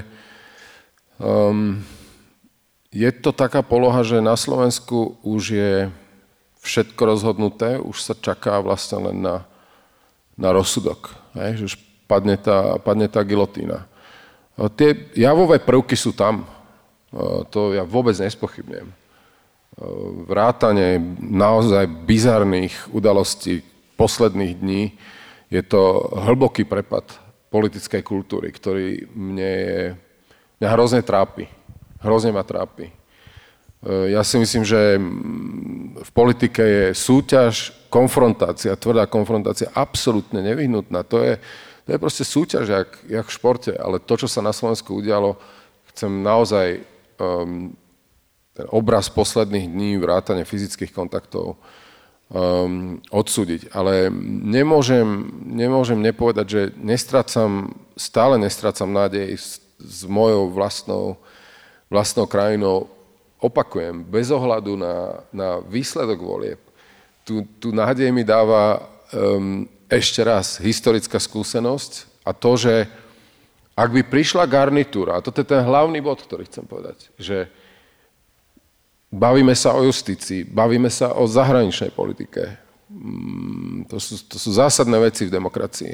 je to taká poloha, že na Slovensku už je všetko rozhodnuté, už sa čaká vlastne len na rozsudok, že už padne tá gilotína. Tie javové prvky sú tam, to ja vôbec nespochybňujem. Vrátane naozaj bizarných udalostí posledných dní je to hlboký prepad politickej kultúry, ktorý mňa hrozne trápi. Hrozne ma trápi. Ja si myslím, že v politike je súťaž, konfrontácia, tvrdá konfrontácia absolútne nevyhnutná. To je proste súťaž, jak v športe, ale to, čo sa na Slovensku udialo, chcem naozaj ten obraz posledných dní, vrátane fyzických kontaktov odsúdiť. Ale nemôžem nepovedať, že stále nestrácam nádej s mojou vlastnou krajinou. Opakujem, bez ohľadu na výsledok volieb. Tu nádej mi dáva ešte raz historická skúsenosť a to, že ak by prišla garnitúra, a toto je ten hlavný bod, ktorý chcem povedať, že bavíme sa o justícii, bavíme sa o zahraničnej politike. To sú zásadné veci v demokracii.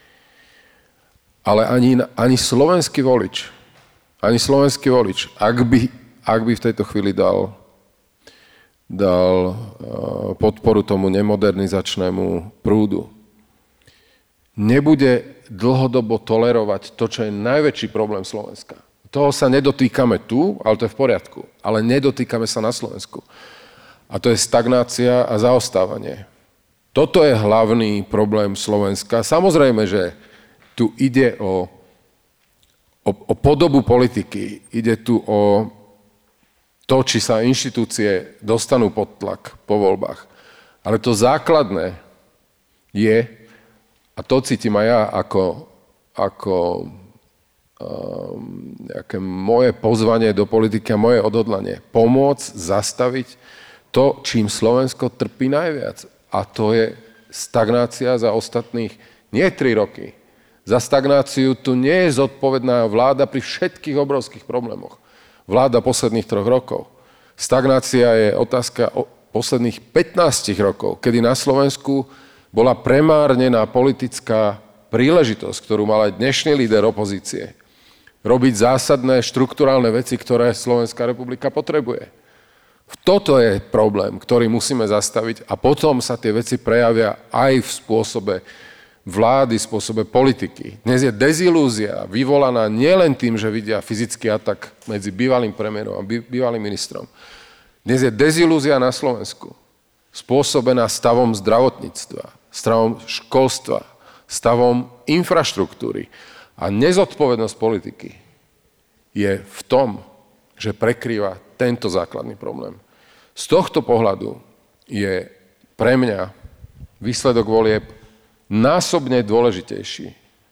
Ale ani slovenský volič, ak by v tejto chvíli dal podporu tomu nemodernizačnému prúdu, nebude dlhodobo tolerovať to, čo je najväčší problém Slovenska. Toho sa nedotýkame tu, ale to je v poriadku. Ale nedotýkame sa na Slovensku. A to je stagnácia a zaostávanie. Toto je hlavný problém Slovenska. Samozrejme, že tu ide o podobu politiky. Ide tu o to, či sa inštitúcie dostanú pod tlak po voľbách. Ale to základné je, a to cítim aj ja ako nejaké moje pozvanie do politiky a moje odhodlanie, pomôcť zastaviť to, čím Slovensko trpí najviac. A to je stagnácia za ostatných, nie 3 roky. Za stagnáciu tu nie je zodpovedná vláda pri všetkých obrovských problémoch. Vláda posledných 3 rokov. Stagnácia je otázka posledných 15 rokov, kedy na Slovensku bola premárnená politická príležitosť, ktorú mal aj dnešný líder opozície. Robiť zásadné štrukturálne veci, ktoré Slovenská republika potrebuje. Toto je problém, ktorý musíme zastaviť a potom sa tie veci prejavia aj v spôsobe vlády, spôsobe politiky. Dnes je dezilúzia vyvolaná nielen tým, že vidia fyzický atak medzi bývalým premiérom a bývalým ministrom. Dnes je dezilúzia na Slovensku spôsobená stavom zdravotníctva, stavom školstva, stavom infraštruktúry. A nezodpovednosť politiky je v tom, že prekrýva tento základný problém. Z tohto pohľadu je pre mňa výsledok volieb násobne dôležitejší.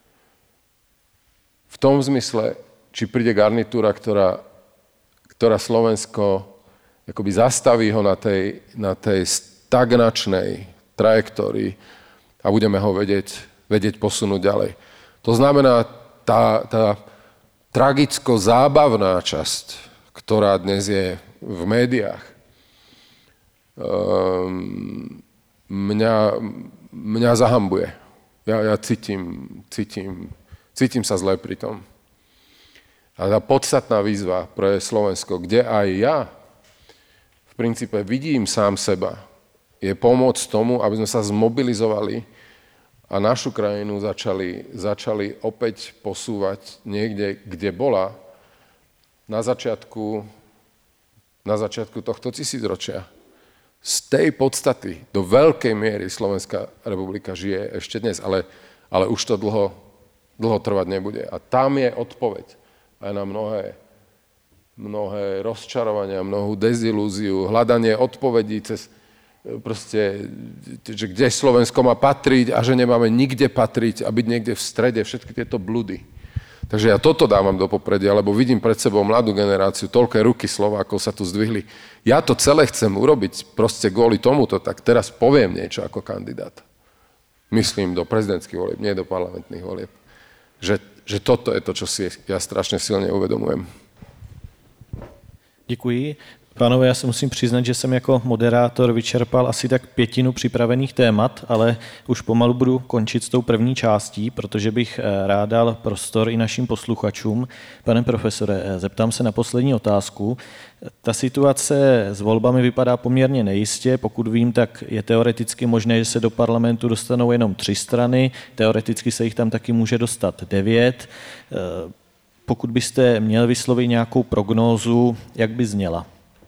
V tom zmysle, či príde garnitúra, ktorá Slovensko akoby zastaví ho na tej stagnačnej trajektórii a budeme ho vedieť posunúť ďalej. To znamená, tá tragicko-zábavná časť, ktorá dnes je v médiách, mňa zahambuje. Ja cítim sa zle pri tom. A tá podstatná výzva pre Slovensko, kde aj ja v princípe vidím sám seba, je pomôcť tomu, aby sme sa zmobilizovali a našu krajinu začali opäť posúvať niekde, kde bola na začiatku tohto tisícročia. Z tej podstaty do veľkej miery Slovenská republika žije ešte dnes, ale už to dlho trvať nebude. A tam je odpoveď aj na mnohé rozčarovania, mnohú dezilúziu, hľadanie odpovedí cez proste, že kde Slovensko má patriť a že nemáme nikde patriť a byť niekde v strede, všetky tieto bludy. Takže ja toto dávam do popredia, lebo vidím pred sebou mladú generáciu, toľké ruky Slovákov sa tu zdvihli. Ja to celé chcem urobiť proste kvôli tomuto, tak teraz poviem niečo ako kandidát. Myslím do prezidentských volieb, nie do parlamentných volieb. Že toto je to, čo si ja strašne silne uvedomujem. Děkuji. Pánové, já se musím přiznat, že jsem jako moderátor vyčerpal asi tak 1/5 připravených témat, ale už pomalu budu končit s tou první částí, protože bych rád dal prostor i našim posluchačům. Pane profesore, zeptám se na poslední otázku. Ta situace s volbami vypadá poměrně nejistě. Pokud vím, tak je teoreticky možné, že se do parlamentu dostanou jenom 3 strany. Teoreticky se jich tam taky může dostat 9. Pokud byste měl vyslovit nějakou prognózu, jak by zněla?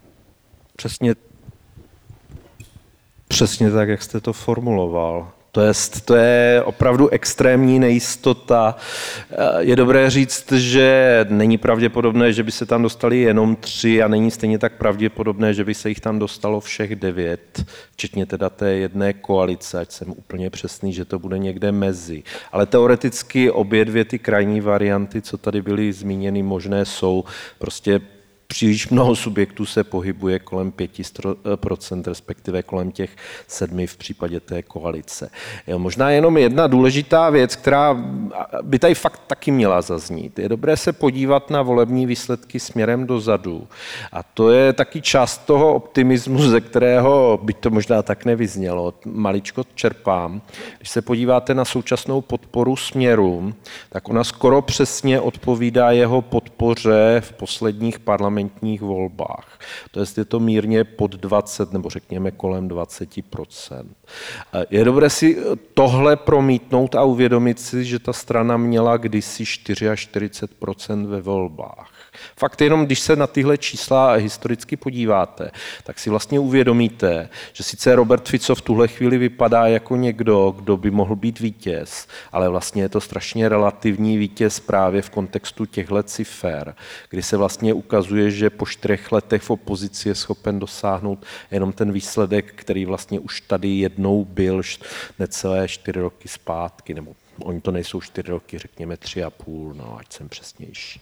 Přesně tak, jak jste to formuloval. To je opravdu extrémní nejistota. Je dobré říct, že není pravděpodobné, že by se tam dostali jenom 3 a není stejně tak pravděpodobné, že by se jich tam dostalo všech 9, včetně teda té jedné koalice, ať jsem úplně přesný, že to bude někde mezi. Ale teoreticky obě dvě ty krajní varianty, co tady byly zmíněny, možné jsou. Prostě příliš mnoho subjektů se pohybuje kolem 5%, respektive kolem těch 7% v případě té koalice. Jo, možná jenom jedna důležitá věc, která by tady fakt taky měla zaznít. Je dobré se podívat na volební výsledky směrem dozadu. A to je taky část toho optimismu, ze kterého, byť to možná tak nevyznělo, maličko čerpám. Když se podíváte na současnou podporu Směru, tak ona skoro přesně odpovídá jeho podpoře v posledních parlamentních volbách. To je to mírně pod 20 nebo řekněme kolem 20%. Je dobré si tohle promítnout a uvědomit si, že ta strana měla kdysi 44% ve volbách. Fakt jenom, když se na tyhle čísla historicky podíváte, tak si vlastně uvědomíte, že sice Robert Fico v tuhle chvíli vypadá jako někdo, kdo by mohl být vítěz, ale vlastně je to strašně relativní vítěz právě v kontextu těchto cifer, kdy se vlastně ukazuje, že po 4 letech v opozici je schopen dosáhnout jenom ten výsledek, který vlastně už tady jednou byl necelé 4 roky zpátky, nebo oni to nejsou 4 roky, řekněme 3,5, no ať jsem přesnější.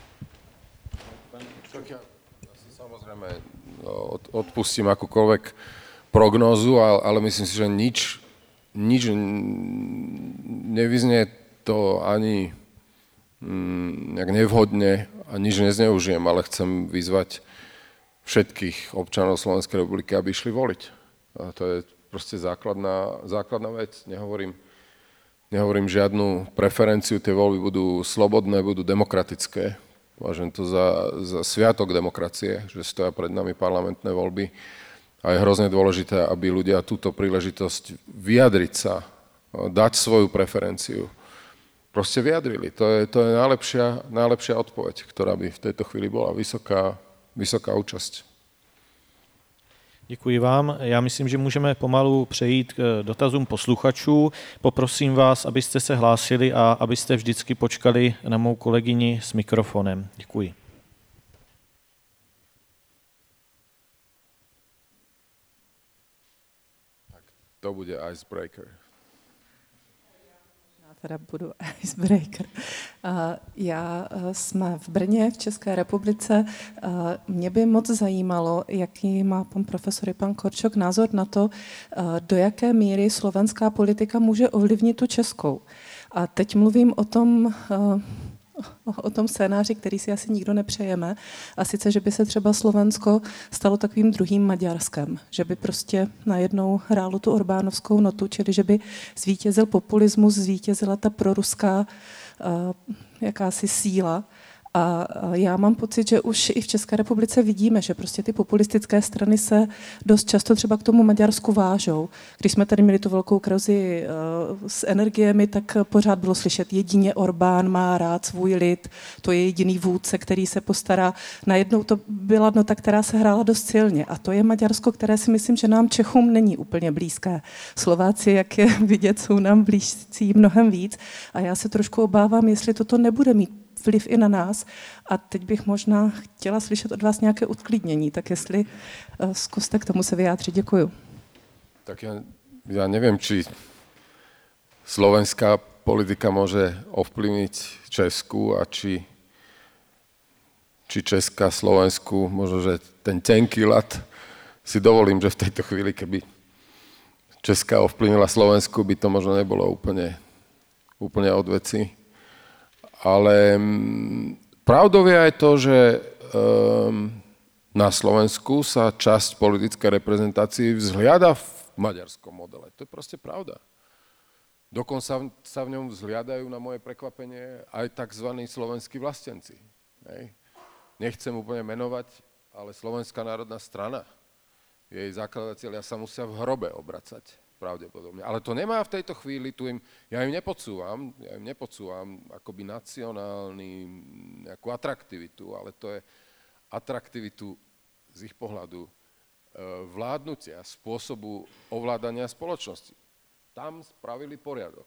Tak ja si samozrejme odpustím akúkoľvek prognózu, ale myslím si, že nič nevyznie to ani nejak nevhodne a nič nezneužijem, ale chcem vyzvať všetkých občanov Slovenskej republiky, aby išli voliť. A to je proste základná vec. Nehovorím žiadnu preferenciu, tie voľby budú slobodné, budú demokratické. Považujem to za sviatok demokracie, že stoja pred nami parlamentné voľby a je hrozne dôležité, aby ľudia túto príležitosť vyjadriť sa, dať svoju preferenciu, proste vyjadrili. To je najlepšia odpoveď, ktorá by v tejto chvíli bola vysoká účasť. Děkuji vám. Já myslím, že můžeme pomalu přejít k dotazům posluchačů. Poprosím vás, abyste se hlásili a abyste vždycky počkali na mou kolegyni s mikrofonem. Děkuji. Tak to bude icebreaker. Teda budu icebreaker. Já jsme v Brně, v České republice. Mě by moc zajímalo, jaký má pan profesor i pan Korčok názor na to, do jaké míry slovenská politika může ovlivnit tu českou. A teď mluvím o tom scénáři, který si asi nikdo nepřejeme, a sice, že by se třeba Slovensko stalo takovým druhým Maďarskem, že by prostě najednou hrálo tu orbánovskou notu, čili že by zvítězil populismus, zvítězila ta proruská jakási síla. A já mám pocit, že už i v České republice vidíme, že prostě ty populistické strany se dost často třeba k tomu Maďarsku vážou. Když jsme tady měli tu velkou krizi s energiemi, tak pořád bylo slyšet, jedině Orbán má rád svůj lid, to je jediný vůdce, který se postará. Najednou to byla nota, která se hrála dost silně. A to je Maďarsko, které si myslím, že nám Čechům není úplně blízké. Slováci, jak je vidět, jsou nám blízcí mnohem víc. A já se trošku obávám, jestli toto nebude mít vliv i na nás. A teď bych možná chtěla slyšet od vás nějaké uklidnění, tak jestli zkuste k tomu se vyjádřit. Děkuju. Tak ja neviem, či slovenská politika môže ovplyvniť Česku a či Česka, Slovensku, možno, že ten tenký ľad si dovolím, že v tejto chvíli, keby Česka ovplyvnila Slovensku, by to možno nebolo úplne od veci. Ale pravdou je aj to, že na Slovensku sa časť politickej reprezentácie vzhliada v maďarskom modele. To je proste pravda. Dokonca sa v ňom vzhliadajú na moje prekvapenie aj tzv. Slovenskí vlastenci. Hej. Nechcem úplne menovať, ale Slovenská národná strana, jej zakladatelia sa musia v hrobe obracať, pravdepodobne. Ale to nemá v tejto chvíli, ja im nepodsúvam akoby nejakú atraktivitu, ale to je atraktivitu z ich pohľadu vládnutia, spôsobu ovládania spoločnosti. Tam spravili poriadok.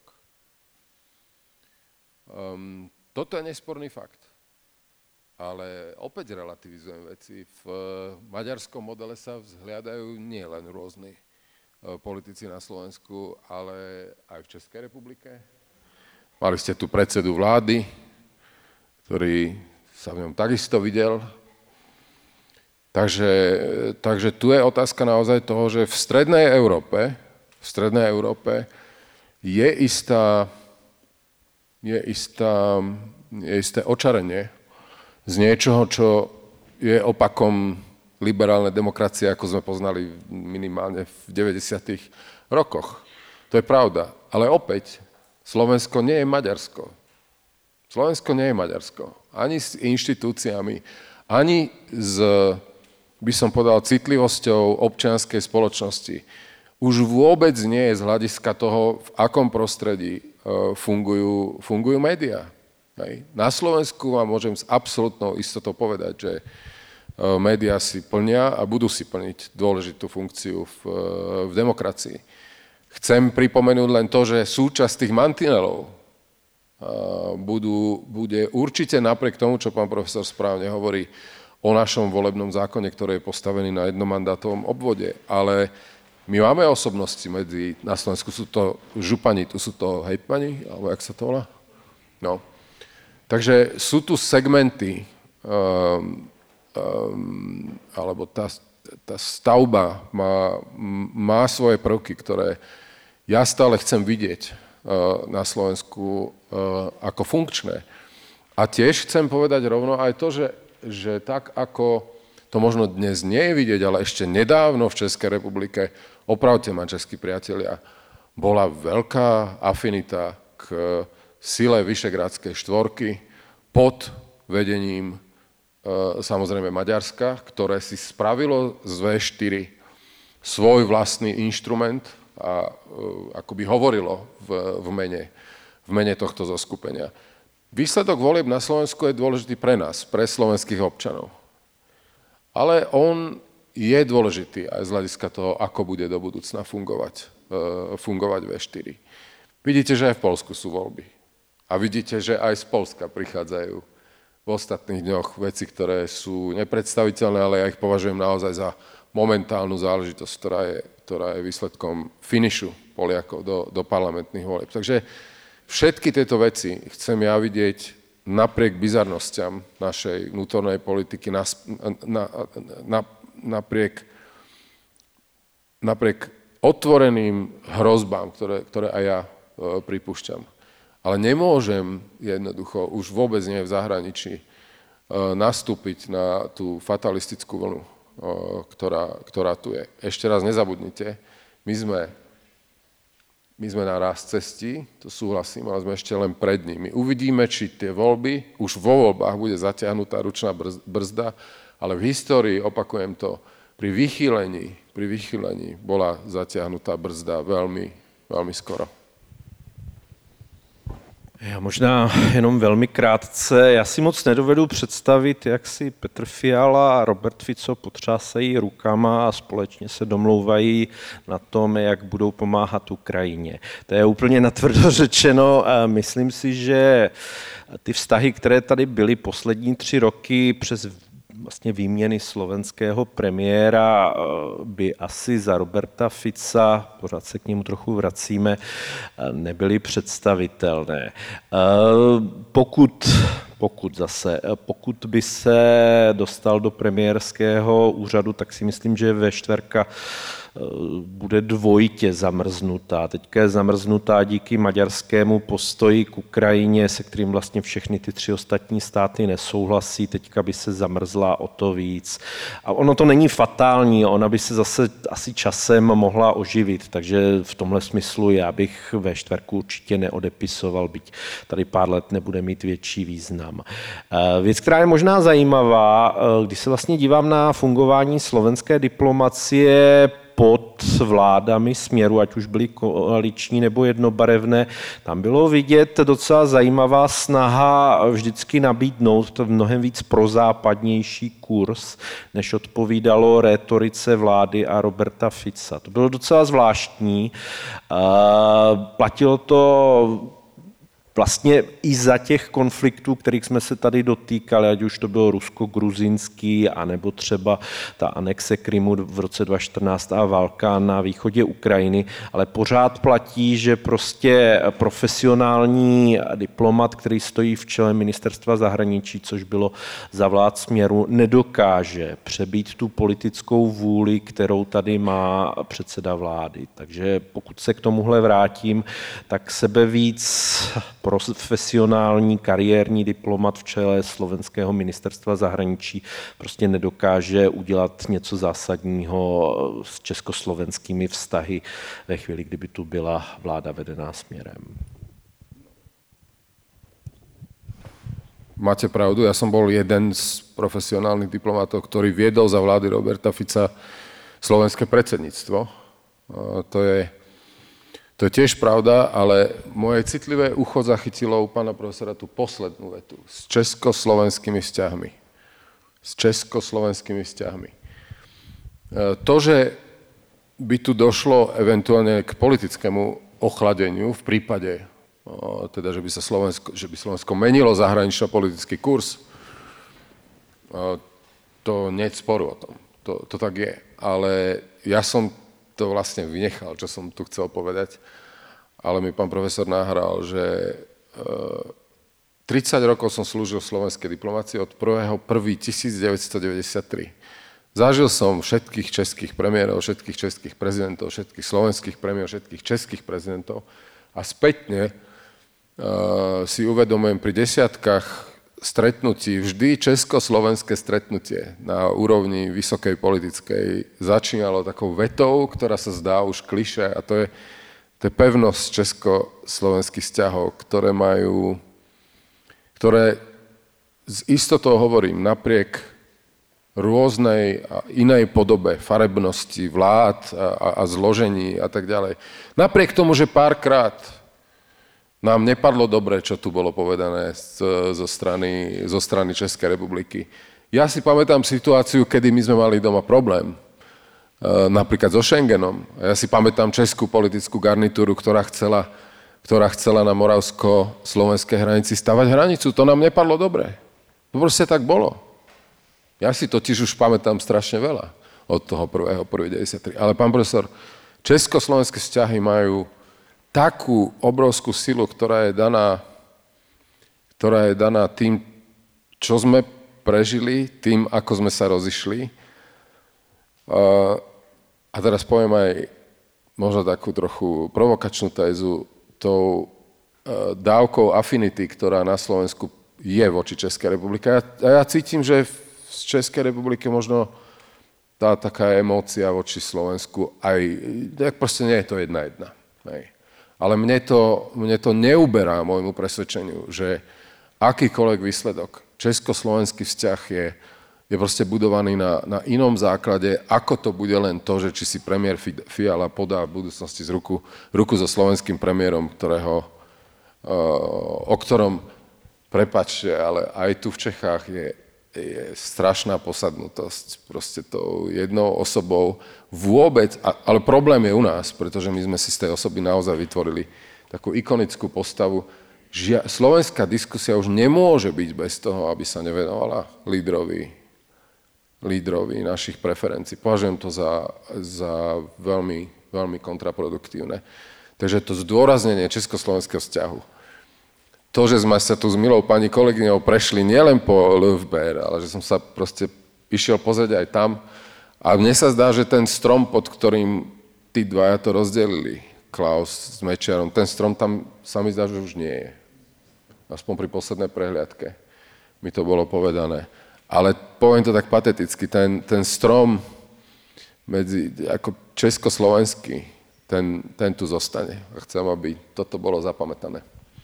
Toto je nesporný fakt. Ale opäť relativizujem veci. V maďarskom modele sa vzhliadajú nie len rôzni politici na Slovensku, ale aj v Českej republike. Mali ste tu predsedu vlády, ktorý sa v ňom takisto videl. Takže tu je otázka naozaj toho, že v strednej Európe je isté očarenie z niečoho, čo je opakom liberálnej demokracie, ako sme poznali minimálne v 90. rokoch. To je pravda. Ale opäť, Slovensko nie je Maďarsko. Ani s inštitúciami, ani s, by som povedal, citlivosťou občianskej spoločnosti. Už vôbec nie je z hľadiska toho, v akom prostredí fungujú médiá. Hej. Na Slovensku vám môžem s absolútnou istotou povedať, že médiá si plnia a budú si plniť dôležitú funkciu v demokracii. Chcem pripomenúť len to, že súčasť tých mantinelov bude určite napriek tomu, čo pán profesor správne hovorí o našom volebnom zákone, ktorý je postavený na jednomandátovom obvode, ale my máme osobnosti na Slovensku, sú to župani, tu sú to hejtmani, alebo jak sa to volá? No. Takže sú tu segmenty, alebo tá stavba má svoje prvky, ktoré ja stále chcem vidieť na Slovensku ako funkčné. A tiež chcem povedať rovno aj to, že tak ako to možno dnes nie je vidieť, ale ešte nedávno v Českej republike, opravte ma, českí priatelia, bola veľká afinita k sile Vyšegrádskej štvorky pod vedením samozrejme Maďarska, ktoré si spravilo z V4 svoj vlastný inštrument a akoby hovorilo v mene tohto zoskupenia. Výsledok volieb na Slovensku je dôležitý pre nás, pre slovenských občanov. Ale on je dôležitý aj z hľadiska toho, ako bude do budúcna fungovať V4. Vidíte, že aj v Poľsku sú voľby. A vidíte, že aj z Poľska prichádzajú v ostatných dňoch veci, ktoré sú nepredstaviteľné, ale ja ich považujem naozaj za momentálnu záležitosť, ktorá je výsledkom finišu Poliakov do parlamentných volieb. Takže všetky tieto veci chcem ja vidieť napriek bizarnostiam našej vnútornej politiky, napriek otvoreným hrozbám, ktoré aj ja pripúšťam. Ale nemôžem jednoducho už vôbec nie v zahraničí nastúpiť na tú fatalistickú vlnu, ktorá tu je. Ešte raz nezabudnite, my sme na raz cestí, to súhlasím, ale sme ešte len pred nimi. Uvidíme, či tie voľby, už vo voľbách bude zatiahnutá ručná brzda, ale v histórii, opakujem to, pri vychýlení bola zatiahnutá brzda veľmi, veľmi skoro. Já možná jenom velmi krátce. Já si moc nedovedu představit, jak si Petr Fiala a Robert Fico potřásají rukama a společně se domlouvají na tom, jak budou pomáhat Ukrajině. To je úplně natvrdo řečeno a myslím si, že ty vztahy, které tady byly poslední 3 roky přes vlastně výměny slovenského premiéra by asi za Roberta Fica, pořád se k němu trochu vracíme, nebyly představitelné. Pokud by se dostal do premiérského úřadu, tak si myslím, že V4 bude dvojitě zamrznutá. Teďka je zamrznutá díky maďarskému postoji k Ukrajině, se kterým vlastně všechny ty 3 ostatní státy nesouhlasí. Teďka by se zamrzla o to víc. A ono to není fatální, ona by se zase asi časem mohla oživit, takže v tomhle smyslu já bych V4 určitě neodepisoval, byť tady pár let nebude mít větší význam. Věc, která je možná zajímavá, když se vlastně dívám na fungování slovenské diplomacie pod vládami Směru, ať už byly koaliční nebo jednobarevné, tam bylo vidět docela zajímavá snaha vždycky nabídnout mnohem víc prozápadnější kurz, než odpovídalo rétorice vlády a Roberta Fica. To bylo docela zvláštní. Platilo to vlastně i za těch konfliktů, kterých jsme se tady dotýkali, ať už to bylo rusko-gruzínský, anebo třeba ta anexe Krymu v roce 2014 a válka na východě Ukrajiny, ale pořád platí, že prostě profesionální diplomat, který stojí v čele ministerstva zahraničí, což bylo za vlád Směru, nedokáže přebít tu politickou vůli, kterou tady má předseda vlády. Takže pokud se k tomuhle vrátím, tak sebevíc profesionální kariérní diplomat v čele slovenského ministerstva zahraničí prostě nedokáže udělat něco zásadního s československými vztahy ve chvíli, kdyby tu byla vláda vedená Směrem. Máte pravdu, ja som bol jeden z profesionálnych diplomatov, ktorý viedol za vlády Roberta Fica slovenské predsedníctvo. To je tiež pravda, ale moje citlivé ucho zachytilo u pána profesora tú poslednú vetu. S československými vzťahmi. To, že by tu došlo eventuálne k politickému ochladeniu v prípade, teda, že by Slovensko menilo zahranično-politický kurz, to nie je sporu o tom. To tak je. Ale ja som to vlastne vynechal, čo som tu chcel povedať, ale mi pán profesor nahral, že 30 rokov som slúžil v slovenskej diplomácii od 1.1.1993. Zažil som všetkých českých premiérov, všetkých českých prezidentov, všetkých slovenských premiérov, všetkých českých prezidentov a spätne si uvedomujem pri desiatkách stretnutí, vždy československé stretnutie na úrovni vysokej politickej začínalo takou vetou, ktorá sa zdá už klišé, a to je pevnosť československých vzťahov, ktoré s istotou hovorím, napriek rôznej a inej podobe farebnosti vlád a zložení a tak ďalej. Napriek tomu, že párkrát nám nepadlo dobre, čo tu bolo povedané zo strany Českej republiky. Ja si pamätám situáciu, kedy my sme mali doma problém, napríklad so Schengenom. Ja si pamätám českú politickú garnitúru, ktorá chcela na moravsko-slovenskej hranici stavať hranicu. To nám nepadlo dobre. To proste tak bolo. Ja si totiž už pamätám strašne veľa od toho 1.1.93. Ale pán profesor, československé vzťahy majú takú obrovskú silu, ktorá je daná tým, čo sme prežili, tým, ako sme sa rozišli. A teraz poviem aj možno takú trochu provokačnú tézu, tou dávkou affinity, ktorá na Slovensku je voči Českej republike. A ja cítim, že z Českej republiky možno tá taká emócia voči Slovensku aj, tak proste nie je to 1:1. Hej. Ale mne to neuberá môjmu presvedčeniu, že akýkoľvek výsledok, československý vzťah je proste budovaný na inom základe, ako to bude len to, že či si premiér Fiala podá v budúcnosti z ruku so slovenským premiérom, o ktorom, prepáčte, ale aj tu v Čechách je strašná posadnutosť proste tou jednou osobou vôbec, ale problém je u nás, pretože my sme si z tej osoby naozaj vytvorili takú ikonickú postavu. Slovenská diskusia už nemôže byť bez toho, aby sa nevenovala lídrovi lídrovi našich preferencií. Považujem to za veľmi, veľmi kontraproduktívne. Takže to zdôraznenie československého vzťahu. To, že sme sa tu s milou pani kolegyňou prešli nielen po LFBR, ale že som sa proste išiel pozrieť aj tam. A mne sa zdá, že ten strom, pod ktorým tí dvaja to rozdelili, Klaus s Mečiarom, ten strom tam sa mi zdá, že už nie je. Aspoň pri poslednej prehliadke mi to bolo povedané. Ale poviem to tak pateticky, ten strom medzi, ako československý, ten tu zostane. A chcem, aby toto bolo zapamätané.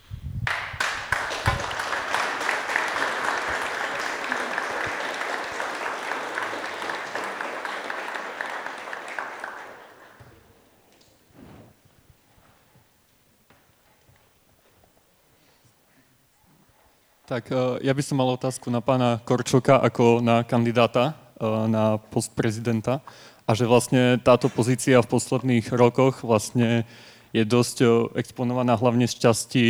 Tak ja by som mal otázku na pána Korčoka ako na kandidáta na post prezidenta. A že vlastne táto pozícia v posledných rokoch vlastne je dosť exponovaná hlavne z časti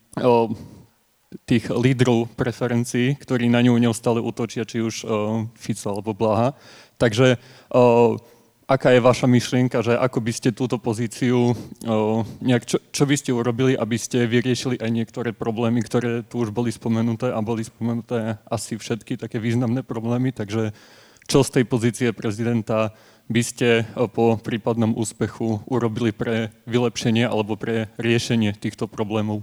tých lídrov preferencií, ktorí na ňu neustále útočia, či už Fico alebo Blaha. Takže aká je vaša myšlienka, že ako by ste túto pozíciu, čo by ste urobili, aby ste vyriešili aj niektoré problémy, ktoré tu už boli spomenuté a boli spomenuté asi všetky také významné problémy, takže čo z tej pozície prezidenta by ste po prípadnom úspechu urobili pre vylepšenie alebo pre riešenie týchto problémov?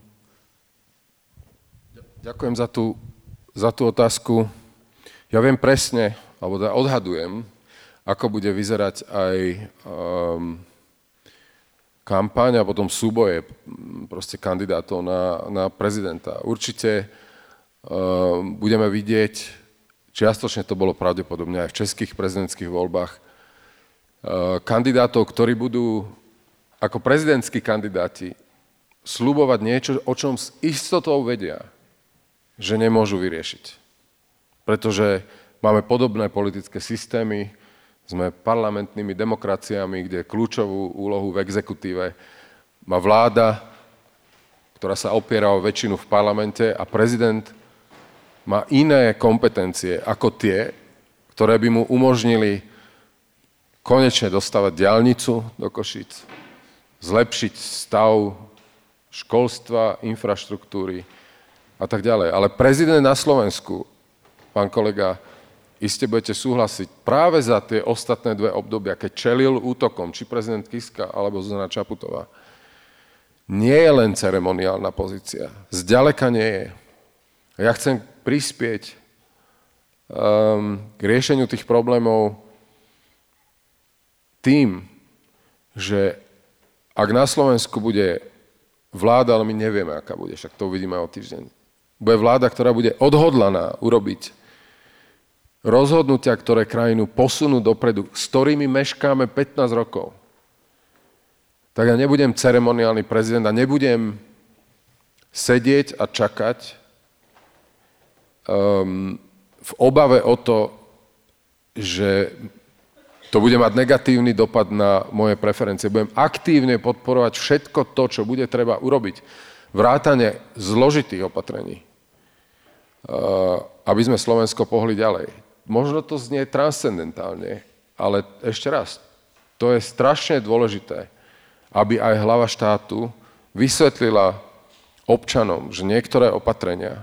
Ďakujem za tú otázku. Ja viem presne, alebo odhadujem, ako bude vyzerať aj kampaň a potom súboje proste kandidátov na prezidenta. Určite budeme vidieť, čiastočne to bolo pravdepodobne aj v českých prezidentských voľbách, kandidátov, ktorí budú ako prezidentskí kandidáti sľubovať niečo, o čom s istotou vedia, že nemôžu vyriešiť. Pretože máme podobné politické systémy, sme parlamentnými demokraciami, kde kľúčovú úlohu v exekutíve má vláda, ktorá sa opiera o väčšinu v parlamente a prezident má iné kompetencie ako tie, ktoré by mu umožnili konečne dostavať diaľnicu do Košíc, zlepšiť stav školstva, infraštruktúry a tak ďalej. Ale prezident na Slovensku, pán kolega, iste budete súhlasiť, práve za tie ostatné dve obdobia, keď čelil útokom, či prezident Kiska alebo Zuzana Čaputová, nie je len ceremoniálna pozícia. Zďaleka nie je. Ja chcem prispieť k riešeniu tých problémov tým, že ak na Slovensku bude vláda, ale my nevieme, aká bude, však to uvidíme o týždeň, bude vláda, ktorá bude odhodlaná urobiť rozhodnutia, ktoré krajinu posunú dopredu, s ktorými meškáme 15 rokov, tak ja nebudem ceremoniálny prezident a nebudem sedieť a čakať v obave o to, že to bude mať negatívny dopad na moje preferencie. Budem aktívne podporovať všetko to, čo bude treba urobiť. Vrátane zložitých opatrení, aby sme Slovensko pohli ďalej. Možno to znie transcendentálne, ale ešte raz, to je strašne dôležité, aby aj hlava štátu vysvetlila občanom, že niektoré opatrenia,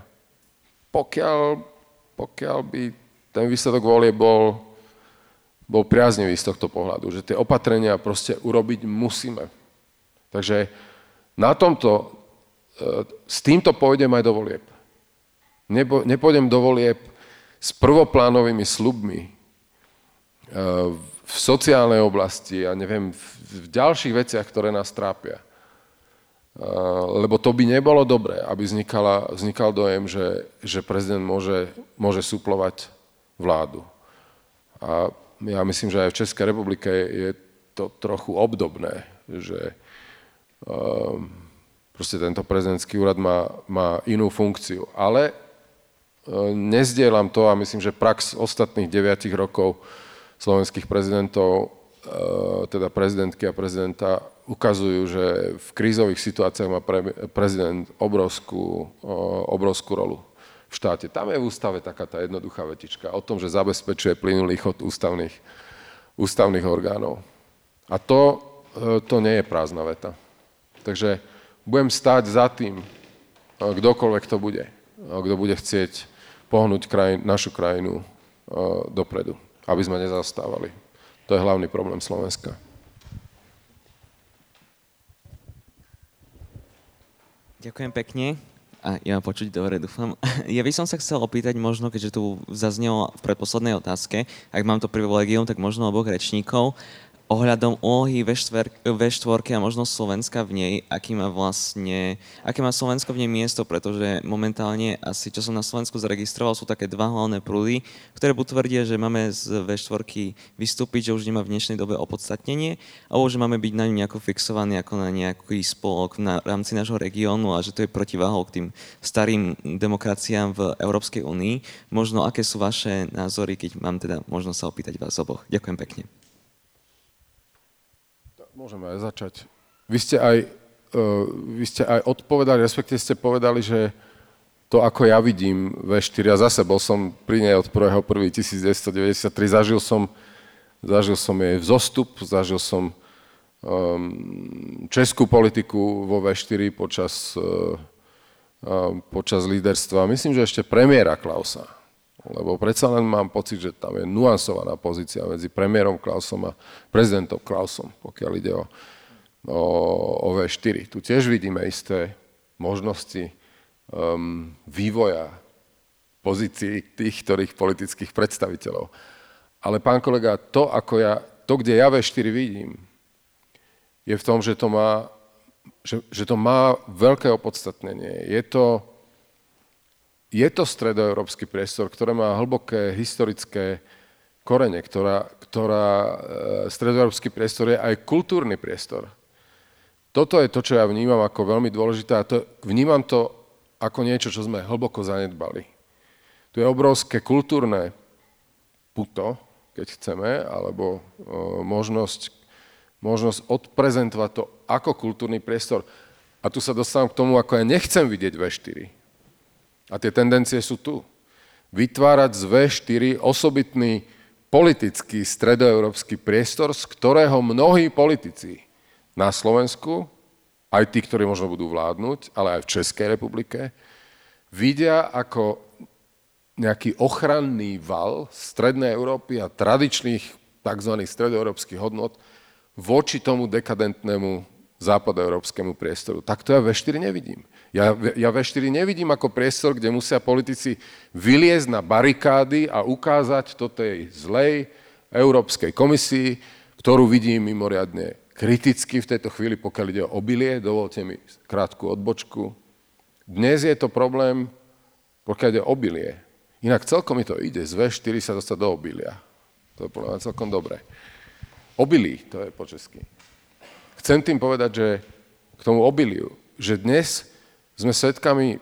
pokiaľ by ten výsledok volie bol priaznivý z tohto pohľadu, že tie opatrenia proste urobiť musíme. Takže s týmto pôjdem aj do volieb. Nepôjdem do volieb s prvoplánovými sľubmi v sociálnej oblasti a neviem, v ďalších veciach, ktoré nás trápia. Lebo to by nebolo dobré, aby vznikal dojem, že prezident môže suplovať vládu. A ja myslím, že aj v Českej republike je to trochu obdobné, že proste tento prezidentský úrad má inú funkciu. Ale nezdielam to a myslím, že prax ostatných 9 rokov slovenských prezidentov, teda prezidentky a prezidenta, ukazujú, že v krízových situáciách má prezident obrovskú rolu. v štáte. Tam je v ústave taká tá jednoduchá vetička o tom, že zabezpečuje plynulý chod ústavných orgánov. A to nie je prázdna veta. Takže budem stáť za tým, kdokoľvek to bude, kto bude chcieť pohnúť našu krajinu dopredu, aby sme nezaostávali. To je hlavný problém Slovenska. Ďakujem pekne. A ja počuť dobre, dúfam. Ja by som sa chcel opýtať možno, keďže tu zaznelo v predposlednej otázke, ak mám to privilegium, tak možno oboch rečníkov, ohľadom úlohy V4 a možno Slovenska v nej, aké má Slovensko v nej miesto, pretože momentálne asi, čo som na Slovensku zaregistroval, sú také dva hlavné prúdy, ktoré buď tvrdia, že máme z V4 vystúpiť, že už nemá v dnešnej dobe opodstatnenie, alebo že máme byť na ňu nejako fixovaní ako na nejaký spolok v rámci nášho regiónu a že to je protiváhou k tým starým demokraciám v Európskej únii. Možno aké sú vaše názory, keď mám teda možnosť sa opýtať vás oboch. Ďakujem pekne. Môžeme aj začať. Vy ste aj odpovedali, respektíve ste povedali, že to, ako ja vidím V4, a zase bol som pri nej od 1.1.1993, zažil som jej vzostup, zažil som českú politiku vo V4 počas líderstva, myslím, že ešte premiéra Klausa. Lebo predsa len mám pocit, že tam je nuansovaná pozícia medzi premiérom Klausom a prezidentom Klausom, pokiaľ ide o V4. Tu tiež vidíme isté možnosti vývoja pozícií tých, ktorých politických predstaviteľov. Ale pán kolega, to, kde ja V4 vidím, je v tom, že to má veľké opodstatnenie. Je to stredoeurópsky priestor, ktorý má hlboké historické korene, stredoeurópsky priestor je aj kultúrny priestor. Toto je to, čo ja vnímam ako veľmi dôležité a vnímam to ako niečo, čo sme hlboko zanedbali. Tu je obrovské kultúrne puto, keď chceme, alebo možnosť odprezentovať to ako kultúrny priestor. A tu sa dostávam k tomu, ako ja nechcem vidieť V4. A tie tendencie sú tu. Vytvárať z V4 osobitný politický stredoeurópsky priestor, z ktorého mnohí politici na Slovensku, aj tí, ktorí možno budú vládnuť, ale aj v Českej republike, vidia ako nejaký ochranný val strednej Európy a tradičných tzv. Stredoeurópskych hodnot voči tomu dekadentnému západoeurópskemu priestoru. Tak to ja V4 nevidím. Ja V4 nevidím ako priestor, kde musia politici vyliezť na barikády a ukázať to tej zlej Európskej komisii, ktorú vidím mimoriadne kriticky v tejto chvíli, pokiaľ ide o obilie. Dovolte mi krátku odbočku. Dnes je to problém, pokiaľ ide o obilie. Inak celkom mi to ide, z V4 sa dostať do obilia. To je podľa mňa celkom dobré. Obilí, to je po česky. Chcem tým povedať, že k tomu obiliu, že dnes sme svedkami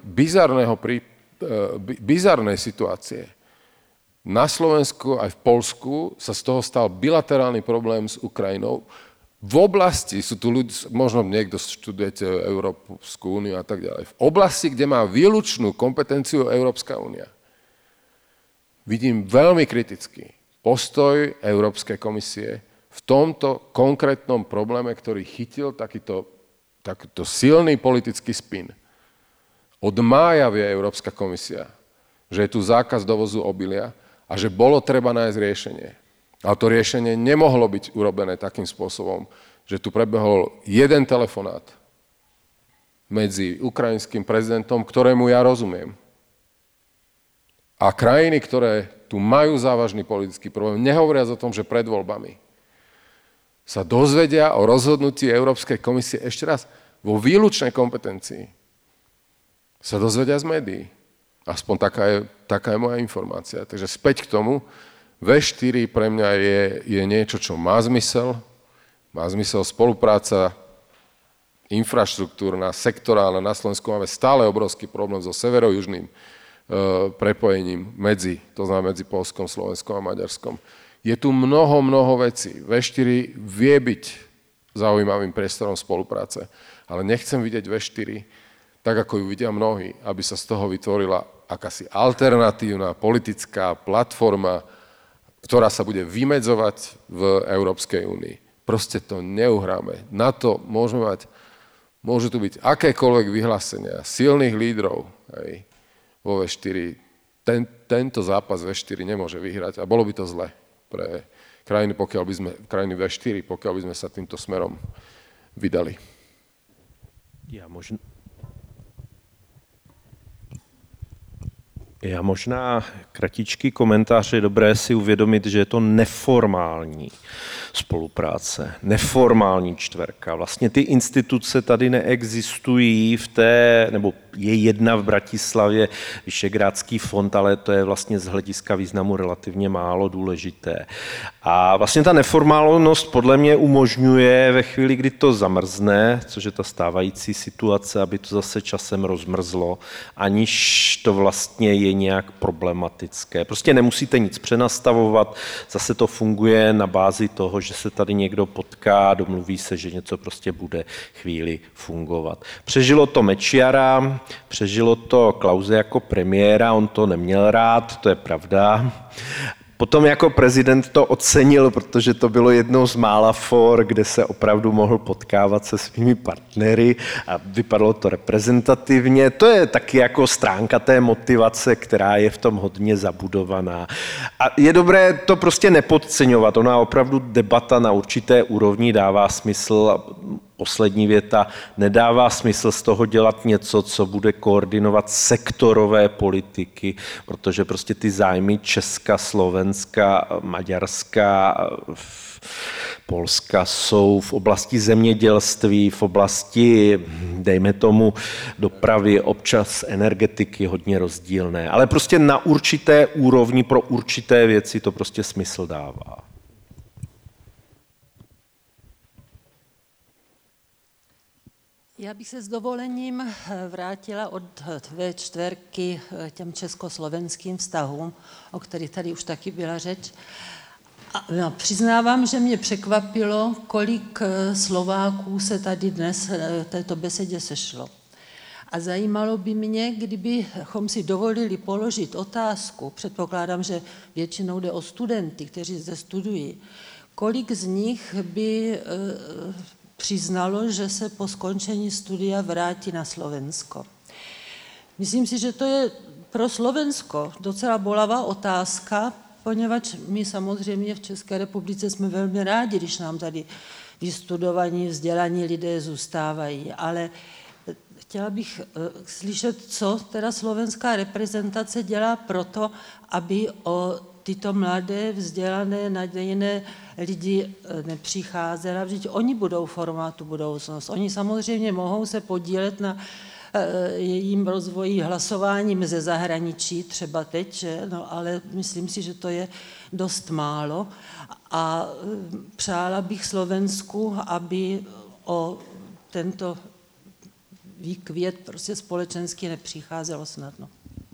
bizarnej situácie. Na Slovensku aj v Poľsku sa z toho stal bilaterálny problém s Ukrajinou. V oblasti, sú tu ľudia, možno niekto študujete Európsku úniu a tak ďalej, v oblasti, kde má výlučnú kompetenciu Európska únia, vidím veľmi kritický postoj Európskej komisie v tomto konkrétnom probléme, ktorý chytil takýto silný politický spin. Od mája vie Európska komisia, že je tu zákaz dovozu obilia a že bolo treba nájsť riešenie. Ale to riešenie nemohlo byť urobené takým spôsobom, že tu prebehol jeden telefonát medzi ukrajinským prezidentom, ktorému ja rozumiem. A krajiny, ktoré tu majú závažný politický problém, nehovoriac o tom, že pred voľbami sa dozvedia o rozhodnutí Európskej komisie ešte raz vo výlučnej kompetencii. Sa dozvedia z médií. Aspoň taká je moja informácia. Takže späť k tomu, V4 pre mňa je niečo, čo má zmysel. Má zmysel spolupráca infraštruktúrna, sektorálna. Na Slovensku máme stále obrovský problém so severo-južným prepojením medzi Poľskom, Slovenskom a Maďarskom. Je tu mnoho vecí. V4 vie byť zaujímavým priestorom spolupráce, ale nechcem vidieť V4 tak, ako ju vidia mnohí, aby sa z toho vytvorila akási alternatívna politická platforma, ktorá sa bude vymedzovať v Európskej únii. Proste to neuhráme. Na to môžu tu byť akékoľvek vyhlásenia silných lídrov, hej, vo V4. Tento zápas V4 nemôže vyhrať a bolo by to zle pre krajiny V4, pokiaľ by sme sa týmto smerom vydali. Já možná kratičký komentář, je dobré si uvědomit, že je to neformální spolupráce, neformální čtverka. Vlastně ty instituce tady neexistují nebo je jedna v Bratislavě, Vyšegrádský fond, ale to je vlastně z hlediska významu relativně málo důležité. A vlastně ta neformálnost podle mě umožňuje ve chvíli, kdy to zamrzne, což je ta stávající situace, aby to zase časem rozmrzlo, aniž to vlastně je nějak problematické. Prostě nemusíte nic přenastavovat, zase to funguje na bázi toho, že se tady někdo potká, domluví se, že něco prostě bude chvíli fungovat. Přežilo to Mečiara, přežilo to Klause jako premiéra, on to neměl rád, to je pravda. Potom jako prezident to ocenil, protože to bylo jednou z mála for, kde se opravdu mohl potkávat se svými partnery a vypadalo to reprezentativně. To je taky jako stránka té motivace, která je v tom hodně zabudovaná. A je dobré to prostě nepodceňovat. Ona opravdu debata na určité úrovni dává smysl. Poslední věta, nedává smysl z toho dělat něco, co bude koordinovat sektorové politiky, protože prostě ty zájmy Česka, Slovenska, Maďarska, Polska jsou v oblasti zemědělství, v oblasti, dejme tomu, dopravy, občas energetiky hodně rozdílné. Ale prostě na určité úrovni pro určité věci to prostě smysl dává. Já bych se s dovolením vrátila od V4 těm československým vztahům, o kterých tady už taky byla řeč. A přiznávám, že mě překvapilo, kolik Slováků se tady dnes v této besedě sešlo. A zajímalo by mě, kdybychom si dovolili položit otázku, předpokládám, že většinou jde o studenty, kteří zde studují, kolik z nich by přiznalo, že se po skončení studia vrátí na Slovensko. Myslím si, že to je pro Slovensko docela bolavá otázka, poněvadž my samozřejmě v České republice jsme velmi rádi, když nám tady vystudovaní, vzdělaní lidé zůstávají, ale chtěla bych slyšet, co teda slovenská reprezentace dělá proto, aby o tyto mladé, vzdělané, nadějné lidi nepřicházela, protože oni budou formovat tu budoucnost. Oni samozřejmě mohou se podílet na jejím rozvoji hlasováním ze zahraničí, třeba teď, no, ale myslím si, že to je dost málo. A přála bych Slovensku, aby o tento výkvět prostě společensky nepřicházelo snadno.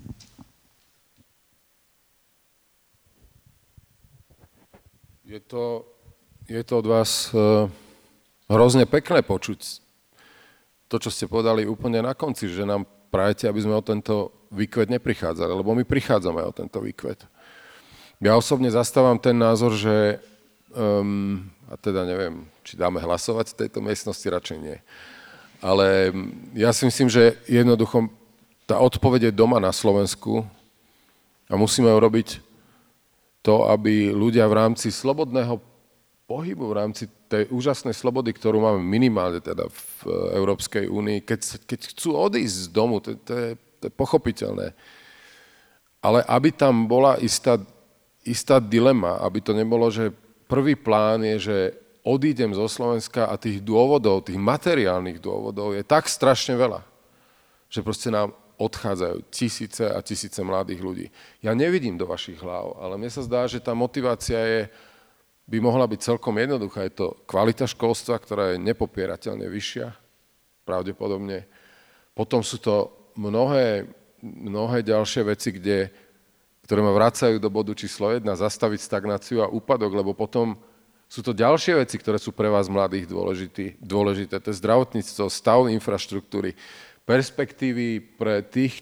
Je to od vás hrozne pekné počuť to, čo ste povedali úplne na konci, že nám prajete, aby sme o tento výkvet neprichádzali, lebo my prichádzame o tento výkvet. Ja osobne zastávam ten názor, že, a teda neviem, či dáme hlasovať v tejto miestnosti, radšej nie. Ale ja si myslím, že jednoducho tá odpoveď je doma na Slovensku a musíme urobiť to, aby ľudia v rámci slobodného pohybu, v rámci tej úžasnej slobody, ktorú máme minimálne teda v Európskej únii, keď chcú odísť z domu, to je pochopiteľné. Ale aby tam bola istá dilema, aby to nebolo, že prvý plán je, že odídem zo Slovenska a tých dôvodov, tých materiálnych dôvodov je tak strašne veľa, že proste nám odchádzajú tisíce a tisíce mladých ľudí. Ja nevidím do vašich hlav, ale mne sa zdá, že tá motivácia by mohla byť celkom jednoduchá. Je to kvalita školstva, ktorá je nepopierateľne vyššia, pravdepodobne. Potom sú to mnohé ďalšie veci, ktoré ma vracajú do bodu číslo 1, zastaviť stagnáciu a úpadok, lebo potom sú to ďalšie veci, ktoré sú pre vás mladých dôležité. To je zdravotníctvo, stav infraštruktúry, perspektívy pre tých,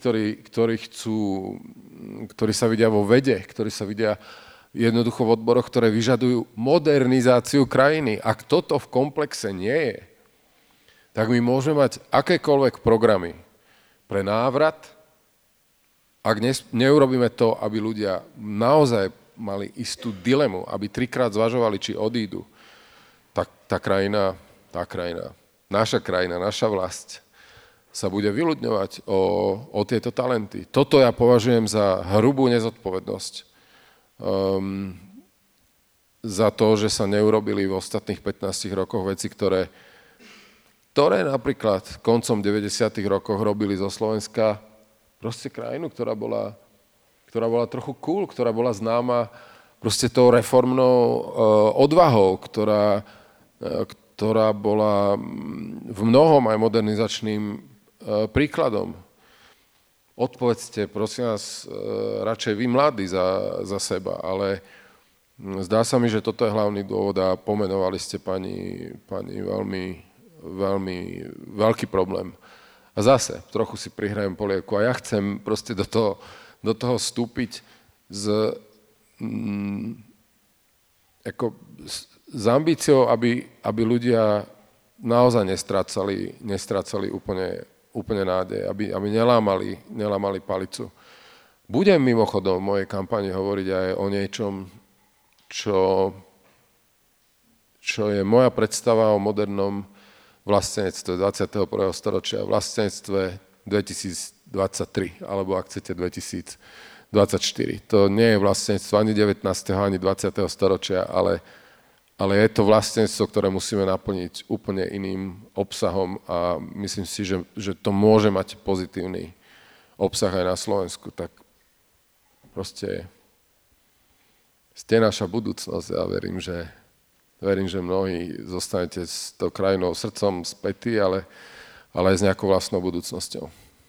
ktorí sa vidia vo vede, ktorí sa vidia jednoducho v odboroch, ktoré vyžadujú modernizáciu krajiny. Ak toto v komplexe nie je, tak my môžeme mať akékoľvek programy pre návrat, ak neurobíme to, aby ľudia naozaj mali istú dilemu, aby 3-krát zvažovali, či odídu, tak tá krajina, naša krajina, naša vlast sa bude vyľudňovať o tieto talenty. Toto ja považujem za hrubú nezodpovednosť. Za to, že sa neurobili v ostatných 15 rokoch veci, ktoré napríklad koncom 90. rokoch robili zo Slovenska proste krajinu, ktorá bola trochu cool, ktorá bola známa proste tou reformnou odvahou, ktorá bola v mnohom aj modernizačným príkladom. Odpovedzte, prosím vás, radšej vy mladí za seba, ale zdá sa mi, že toto je hlavný dôvod a pomenovali ste pani veľmi, veľmi veľký problém. A zase, trochu si prihrajem polievku a ja chcem proste do toho vstúpiť s ambíciou, aby ľudia naozaj nestrácali úplne nádej, aby nelámali palicu. Budem mimochodom v mojej kampani hovoriť aj o niečom, čo je moja predstava o modernom vlastenectve 21. storočia, vlastenectve 2023, alebo ak chcete 2024. To nie je vlastenectvo ani 19. ani 20. storočia, ale je to vlastenectvo, ktoré musíme naplniť úplne iným obsahom a myslím si, že to môže mať pozitívny obsah aj na Slovensku. Tak proste ste naša budúcnosť a verím, že mnohí zostanete s tou krajinou srdcom spätí, ale aj s nejakou vlastnou budúcnosťou.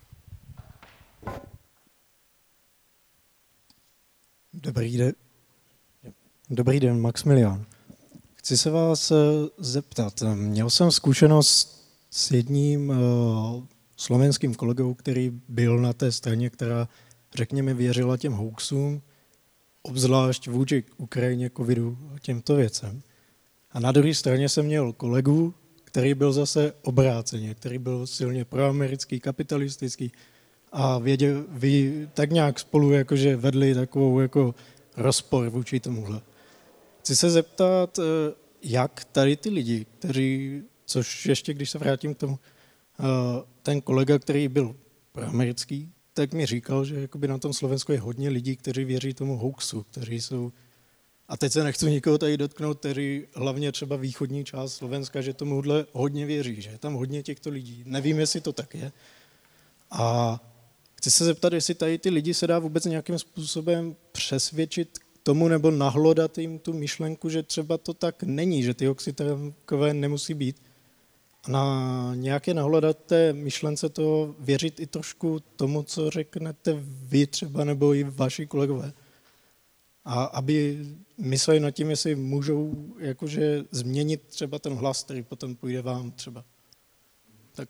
Dobrý den, Maximilián. Chci se vás zeptat. Měl jsem zkušenost s jedním slovenským kolegou, který byl na té straně, která, řekněme, věřila těm hoaxům, obzvlášť vůči Ukrajině, covidu a těmto věcem. A na druhé straně jsem měl kolegu, který byl zase obráceně, který byl silně proamerický, kapitalistický a vy tak nějak spolu jakože vedli takovou jako rozpor vůči tomuhle. Chci se zeptat, jak tady ty lidi, což ještě když se vrátím k tomu, ten kolega, který byl proamerický, tak mi říkal, že jakoby na tom Slovensku je hodně lidí, kteří věří tomu hoaxu, kteří jsou, a teď se nechci nikoho tady dotknout, kteří hlavně třeba východní část Slovenska, že tomuhle hodně věří, že je tam hodně těchto lidí. Nevím, jestli to tak je. A chci se zeptat, jestli tady ty lidi se dá vůbec nějakým způsobem přesvědčit tomu nebo nahlodat jim tu myšlenku, že třeba to tak není, že ty hoaxy takové nemusí být. A na nějaké nahlodat té myšlence to věřit i trošku tomu, co řeknete vy třeba nebo i vaši kolegové. A aby mysleli nad tím, jestli můžou jakože změnit třeba ten hlas, který potom půjde vám třeba. Tak.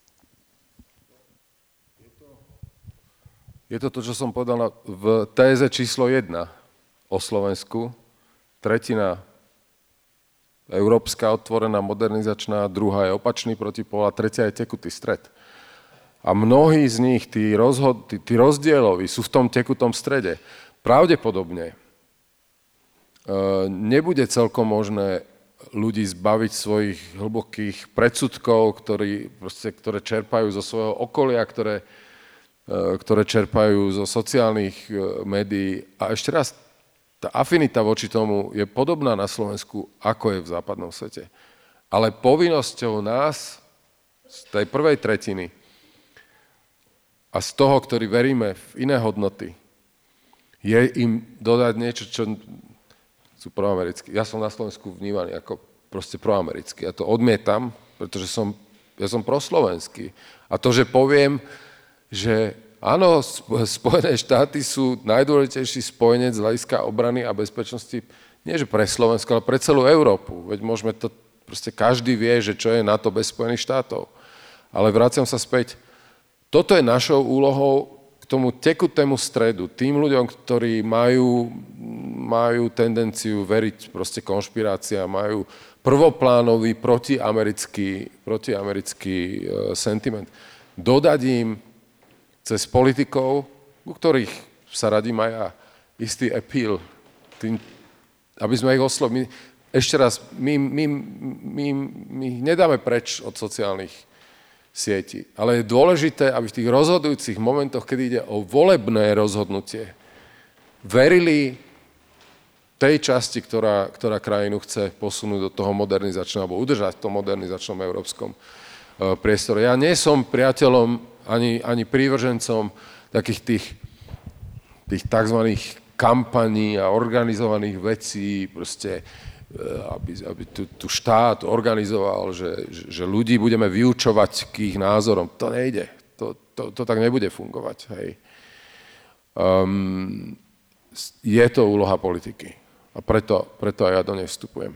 Je to, čo som povedal v téze číslo 1 o Slovensku. Tretina európska, otvorená, modernizačná, druhá je opačný protipól a tretia je tekutý stred. A mnohí z nich, tí rozdieloví, sú v tom tekutom strede. Pravdepodobne nebude celkom možné ľudí zbaviť svojich hlbokých predsudkov, ktoré čerpajú zo svojho okolia, ktoré čerpajú zo sociálnych médií. A ešte raz, tá afinita voči tomu je podobná na Slovensku, ako je v západnom svete. Ale povinnosťou nás, z tej prvej tretiny a z toho, ktorí veríme v iné hodnoty, je im dodať niečo, čo sú proamerickí. Ja som na Slovensku vnímaný ako proste proamerický. Ja to odmietam, pretože ja som proslovenský. A to, že poviem, že áno, Spojené štáty sú najdôležitejší spojenec z hľadiska obrany a bezpečnosti, nie že pre Slovensko, ale pre celú Európu. Veď môžeme to, proste každý vie, že čo je NATO bez Spojených štátov. Ale vraciam sa späť, toto je našou úlohou k tomu tekutému stredu, tým ľuďom, ktorí majú tendenciu veriť proste konšpiráciám, majú prvoplánový protiamerický sentiment. Dodať im cez politikov, u ktorých sa radím aj ja, istý appeal, aby sme ich oslovili. Ešte raz, my ich nedáme preč od sociálnych sietí, ale je dôležité, aby v tých rozhodujúcich momentoch, keď ide o volebné rozhodnutie, verili tej časti, ktorá krajinu chce posunúť do toho modernizačného, alebo udržať v tom modernizačnom európskom priestore. Ja nie som priateľom ani prívržencom takých tých tzv. Kampaní a organizovaných vecí, proste, aby tu štát organizoval, že ľudí budeme vyučovať k ich názorom. To nejde. To tak nebude fungovať. Hej. Je to úloha politiky. A preto aj ja do nej vstupujem.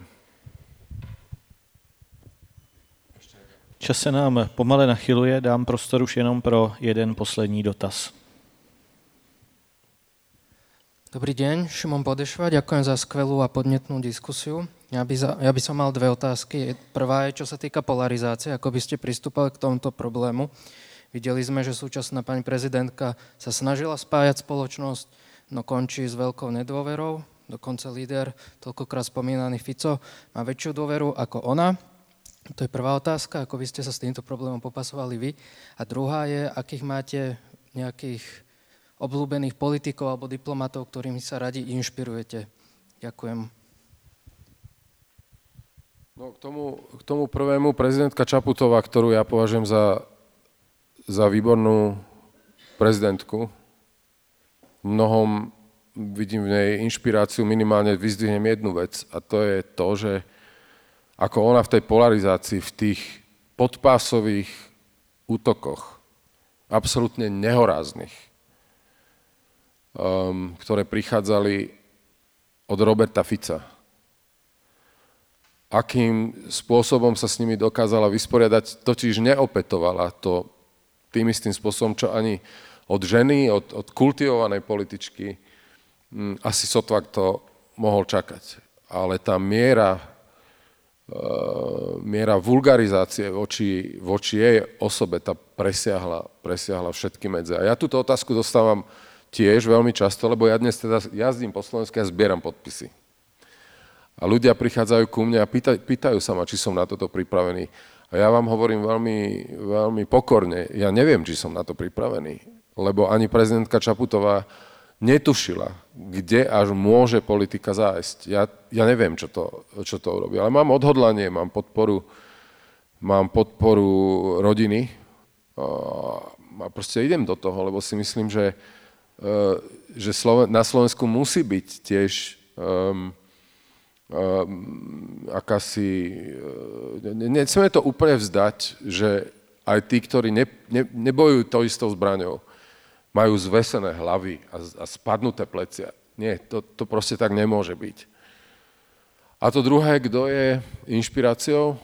Čas se nám pomale nachyluje, dám prostor už jenom pro jeden poslední dotaz. Dobrý deň, Šimon Podešva, ďakujem za skvelú a podnetnú diskusiu. Ja by som mal dve otázky. Prvá je, čo sa týka polarizácie, ako by ste pristúpali k tomuto problému. Videli sme, že súčasná pani prezidentka sa snažila spájať spoločnosť, no končí s veľkou nedôverou. Dokonca líder, toľkokrát spomínaný Fico, má väčšiu dôveru ako ona. To je prvá otázka, ako by ste sa s týmto problémom popasovali vy. A druhá je, akých máte nejakých obľúbených politikov alebo diplomatov, ktorými sa radi inšpirujete. Ďakujem. No, k tomu prvému, prezidentka Čaputová, ktorú ja považujem za výbornú prezidentku, mnohom vidím v nej inšpiráciu, minimálne vyzdvihnem jednu vec, a to je to, že ako ona v tej polarizácii, v tých podpásových útokoch, absolútne nehoráznych, ktoré prichádzali od Roberta Fica. Akým spôsobom sa s nimi dokázala vysporiadať, totiž neopetovala to tým istým spôsobom, čo ani od ženy, od kultivovanej političky asi sotva kto mohol čakať. Ale tá miera vulgarizácie voči jej osobe, tá presiahla všetky medze. A ja túto otázku dostávam tiež veľmi často, lebo ja dnes teda jazdím po Slovensku a zbieram podpisy. A ľudia prichádzajú ku mne a pýtajú sa ma, či som na toto pripravený. A ja vám hovorím veľmi, veľmi pokorne, ja neviem, či som na to pripravený, lebo ani prezidentka Čaputová netušila, kde až môže politika zájsť. Ja neviem, čo to urobí, ale mám odhodlanie, mám podporu rodiny a proste idem do toho, lebo si myslím, že na Slovensku musí byť tiež akási... Nechceme to úplne vzdať, že aj tí, ktorí nebojujú tou istou zbraňou, majú zvesené hlavy a spadnuté plecia. Nie, to proste tak nemôže byť. A to druhé, kto je inšpiráciou?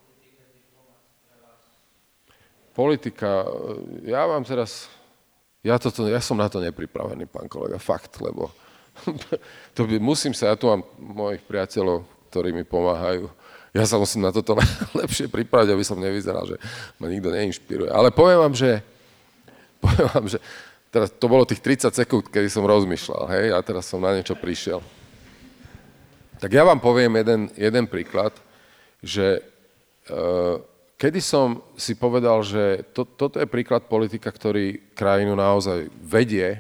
Politika. Ja vám teraz... Ja som na to nepripravený, pán kolega, fakt, lebo musím sa, ja tu mám mojich priateľov, ktorí mi pomáhajú. Ja sa musím na toto lepšie pripraviť, aby som nevyzeral, že ma nikto neinšpiruje. Ale poviem vám, že teraz to bolo tých 30 sekúnd, kedy som rozmýšľal, hej, a teraz som na niečo prišiel. Tak ja vám poviem jeden príklad, že kedy som si povedal, že toto je príklad politika, ktorý krajinu naozaj vedie,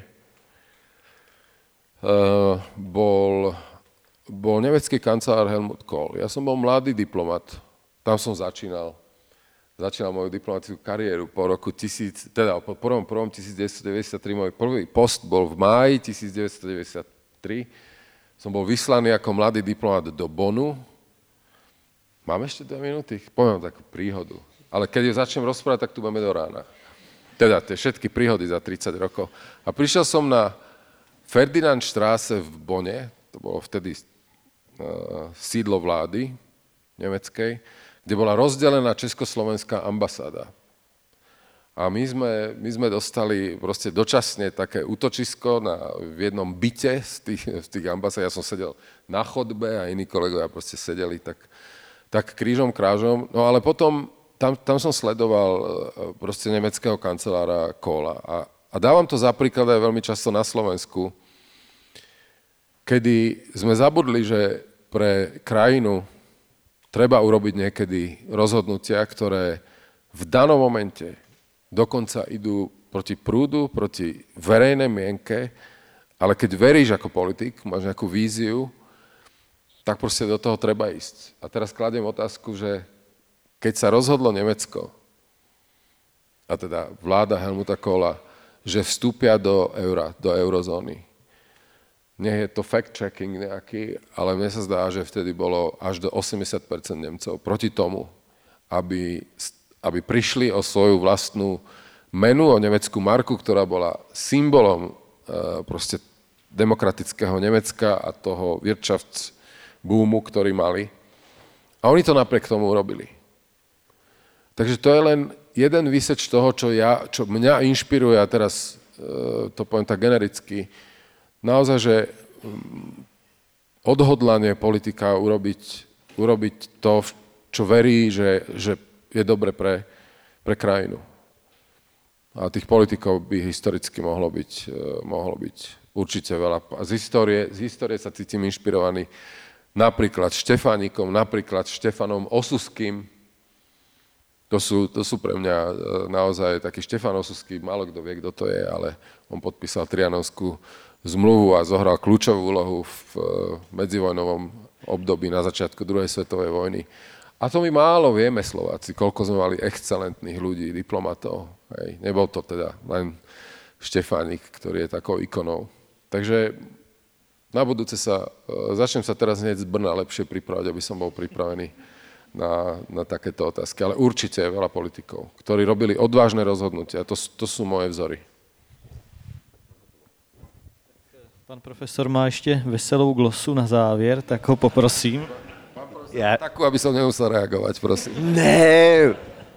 bol nemecký kancelár Helmut Kohl. Ja som bol mladý diplomat, tam som začínal moju diplomatickú kariéru po roku po prvom 1993, môj prvý post bol v máji 1993. Som bol vyslaný ako mladý diplomat do Bonnu. Mám ešte 2 minúty? Poviem takú príhodu. Ale keď ju začnem rozprávať, tak tu budeme do rána. Teda tie všetky príhody za 30 rokov. A prišiel som na Ferdinandstraße v Bonne, to bolo vtedy sídlo vlády nemeckej, kde bola rozdelená československá ambasáda. A my sme dostali proste dočasne také útočisko v jednom byte z tých ambasád. Ja som sedel na chodbe a iní kolegovia proste sedeli tak krížom krážom. No ale potom tam som sledoval proste nemeckého kancelára Kohla. A dávam to za príklad aj veľmi často na Slovensku, kedy sme zabudli, že pre krajinu treba urobiť niekedy rozhodnutia, ktoré v danom momente dokonca idú proti prúdu, proti verejnej mienke, ale keď veríš ako politik, máš nejakú víziu, tak proste do toho treba ísť. A teraz kladiem otázku, že keď sa rozhodlo Nemecko, a teda vláda Helmuta Kohla, že vstúpia do eurozóny, nie je to fact-checking nejaký, ale mne sa zdá, že vtedy bolo až do 80% Nemcov proti tomu, aby prišli o svoju vlastnú menu, o nemeckú marku, ktorá bola symbolom proste demokratického Nemecka a toho Wirtschaftsboomu, ktorý mali. A oni to napriek tomu urobili. Takže to je len jeden výseč toho, čo mňa inšpiruje, a teraz to poviem tak genericky, naozaj, že odhodlanie politika urobiť to, čo verí, že je dobre pre krajinu. A tých politikov by historicky mohlo byť určite veľa. A z histórie sa cítim inšpirovaný napríklad Štefánikom, napríklad Štefanom Osuským. To sú pre mňa naozaj taký Štefan Osuský, málo kto vie, kto to je, ale on podpísal Trianonskú zmluvu a zohral kľúčovú úlohu v medzivojnovom období na začiatku druhej svetovej vojny. A to my málo vieme, Slováci, koľko sme mali excelentných ľudí, diplomatov. Hej. Nebol to teda len Štefánik, ktorý je takou ikonou. Takže na budúce začnem sa teraz hneď z Brna lepšie pripravať, aby som bol pripravený na takéto otázky. Ale určite je veľa politikov, ktorí robili odvážne rozhodnutia. To sú moje vzory. Pan profesor má ešte veselou glosu na závěr, tak ho poprosím. Takú, aby som nemusel reagovat, prosím. Ne,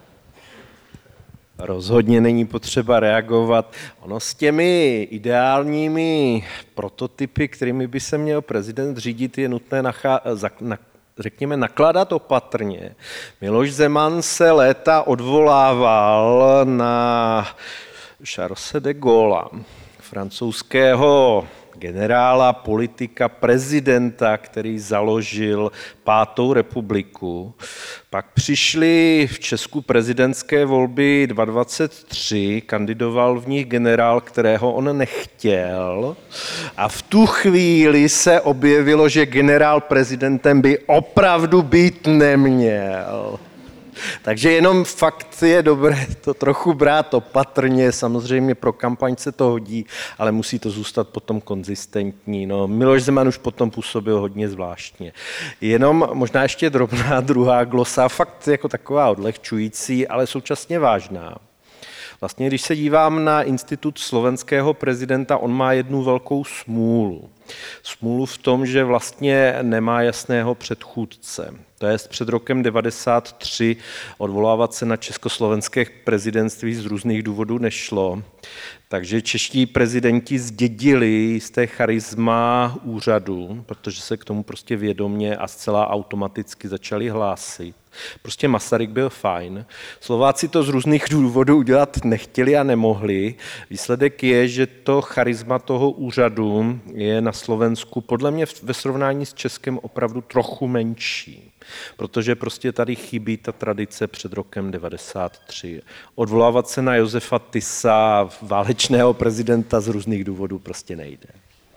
rozhodně není potřeba reagovat. Ono s těmi ideálními prototypy, kterými by se měl prezident řídit, je nutné řekněme, nakládat opatrně. Miloš Zeman se léta odvolával na Charlese de Gaulla, francouzského generála, politika, prezidenta, který založil 5. republiku. Pak přišly v Česku prezidentské volby 2023, kandidoval v nich generál, kterého on nechtěl, a v tu chvíli se objevilo, že generál prezidentem by opravdu být neměl. Takže jenom fakt je dobré to trochu brát opatrně, samozřejmě pro kampaň se to hodí, ale musí to zůstat potom konzistentní. No, Miloš Zeman už potom působil hodně zvláštně. Jenom možná ještě drobná druhá glosa, fakt jako taková odlehčující, ale současně vážná. Vlastně, když se dívám na institut slovenského prezidenta, on má jednu velkou smůlu. Smůlu v tom, že vlastně nemá jasného předchůdce. To je před rokem 1993 odvolávat se na československé prezidentství z různých důvodů nešlo. Takže čeští prezidenti zdědili jisté charisma úřadu, protože se k tomu prostě vědomě a zcela automaticky začali hlásit. Prostě Masaryk byl fajn. Slováci to z různých důvodů udělat nechtěli a nemohli. Výsledek je, že to charisma toho úřadu je na Slovensku podle mě ve srovnání s Českem opravdu trochu menší. Protože prostě tady chybí ta tradice před rokem 1993. Odvolávat se na Josefa Tisa, válečného prezidenta, z různých důvodů prostě nejde.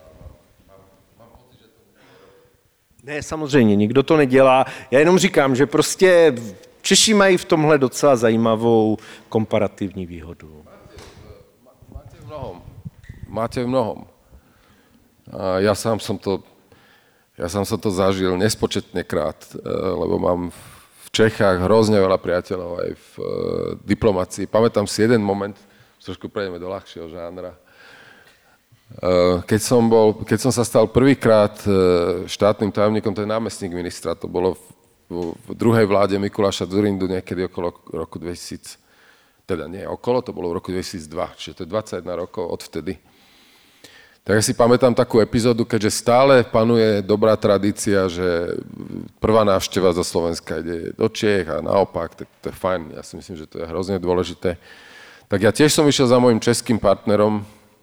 Ne, samozřejmě, nikdo to nedělá. Já jenom říkám, že prostě Češi mají v tomhle docela zajímavou komparativní výhodu. Máte v mnohom. A ja sám som to zažil nespočetne krát, lebo mám v Čechách hrozne veľa priateľov aj v diplomácii. Pamätám si jeden moment, trošku prejdeme do ľahšieho žánra. Keď som sa stal prvýkrát štátnym tajomníkom, to je námestník ministra, to bolo v druhej vláde Mikuláša Dzurindu niekedy okolo roku 2000. teda nie okolo, to bolo v roku 2002, čiže to je 21 rokov odvtedy. Tak ja si pamätám takú epizódu, keďže stále panuje dobrá tradícia, že prvá návšteva zo Slovenska ide do Čiech a naopak, tak to je fajn, ja si myslím, že to je hrozne dôležité. Tak ja tiež som išiel za mojim českým partnerom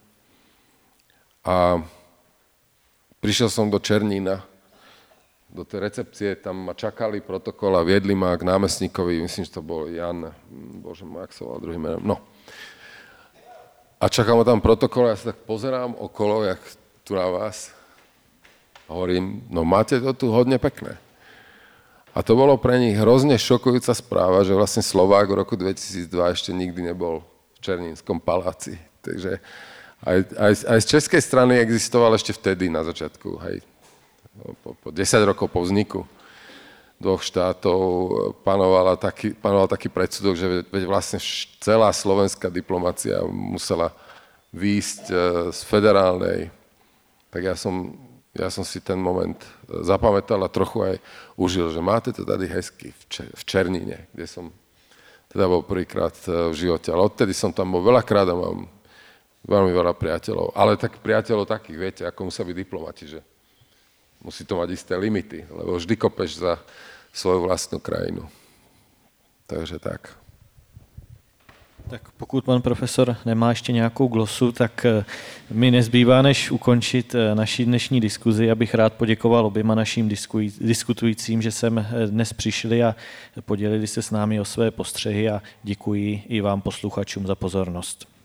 a prišiel som do Černína, do tej recepcie, tam ma čakali protokol a viedli ma k námestníkovi, myslím, že to bol Jan, bože môj, ak sa volal druhým menom, no. A čakal ma tam protokol, ja sa tak pozerám okolo, jak tu na vás. A hovorím, no máte to tu hodne pekné. A to bolo pre nich hrozne šokujúca správa, že vlastne Slovák v roku 2002 ešte nikdy nebol v Černínskom paláci. Takže aj z českej strany existoval ešte vtedy na začiatku, hej, po 10 rokov po vzniku dvoch štátov panoval taký predsudok, že vlastne celá slovenská diplomacia musela výjsť z federálnej. Tak ja som si ten moment zapamätal a trochu aj užil, že máte to tady hezky v Černíne, kde som teda bol prvýkrát v živote. Ale odtedy som tam bol veľakrát a mám veľmi veľa priateľov. Ale tak priateľov takých, viete, ako musia byť diplomati, že musí to mať isté limity, lebo vždy kopeš za svoju vlastnú krajinu. Takže tak. Tak pokud pan profesor nemá ještě nějakou glosu, tak mi nezbývá, než ukončit naši dnešní diskuzi. Abych rád poděkoval oběma našim diskutujícím, že sem dnes přišli a podělili se s námi o své postřehy a děkuji i vám posluchačům za pozornost.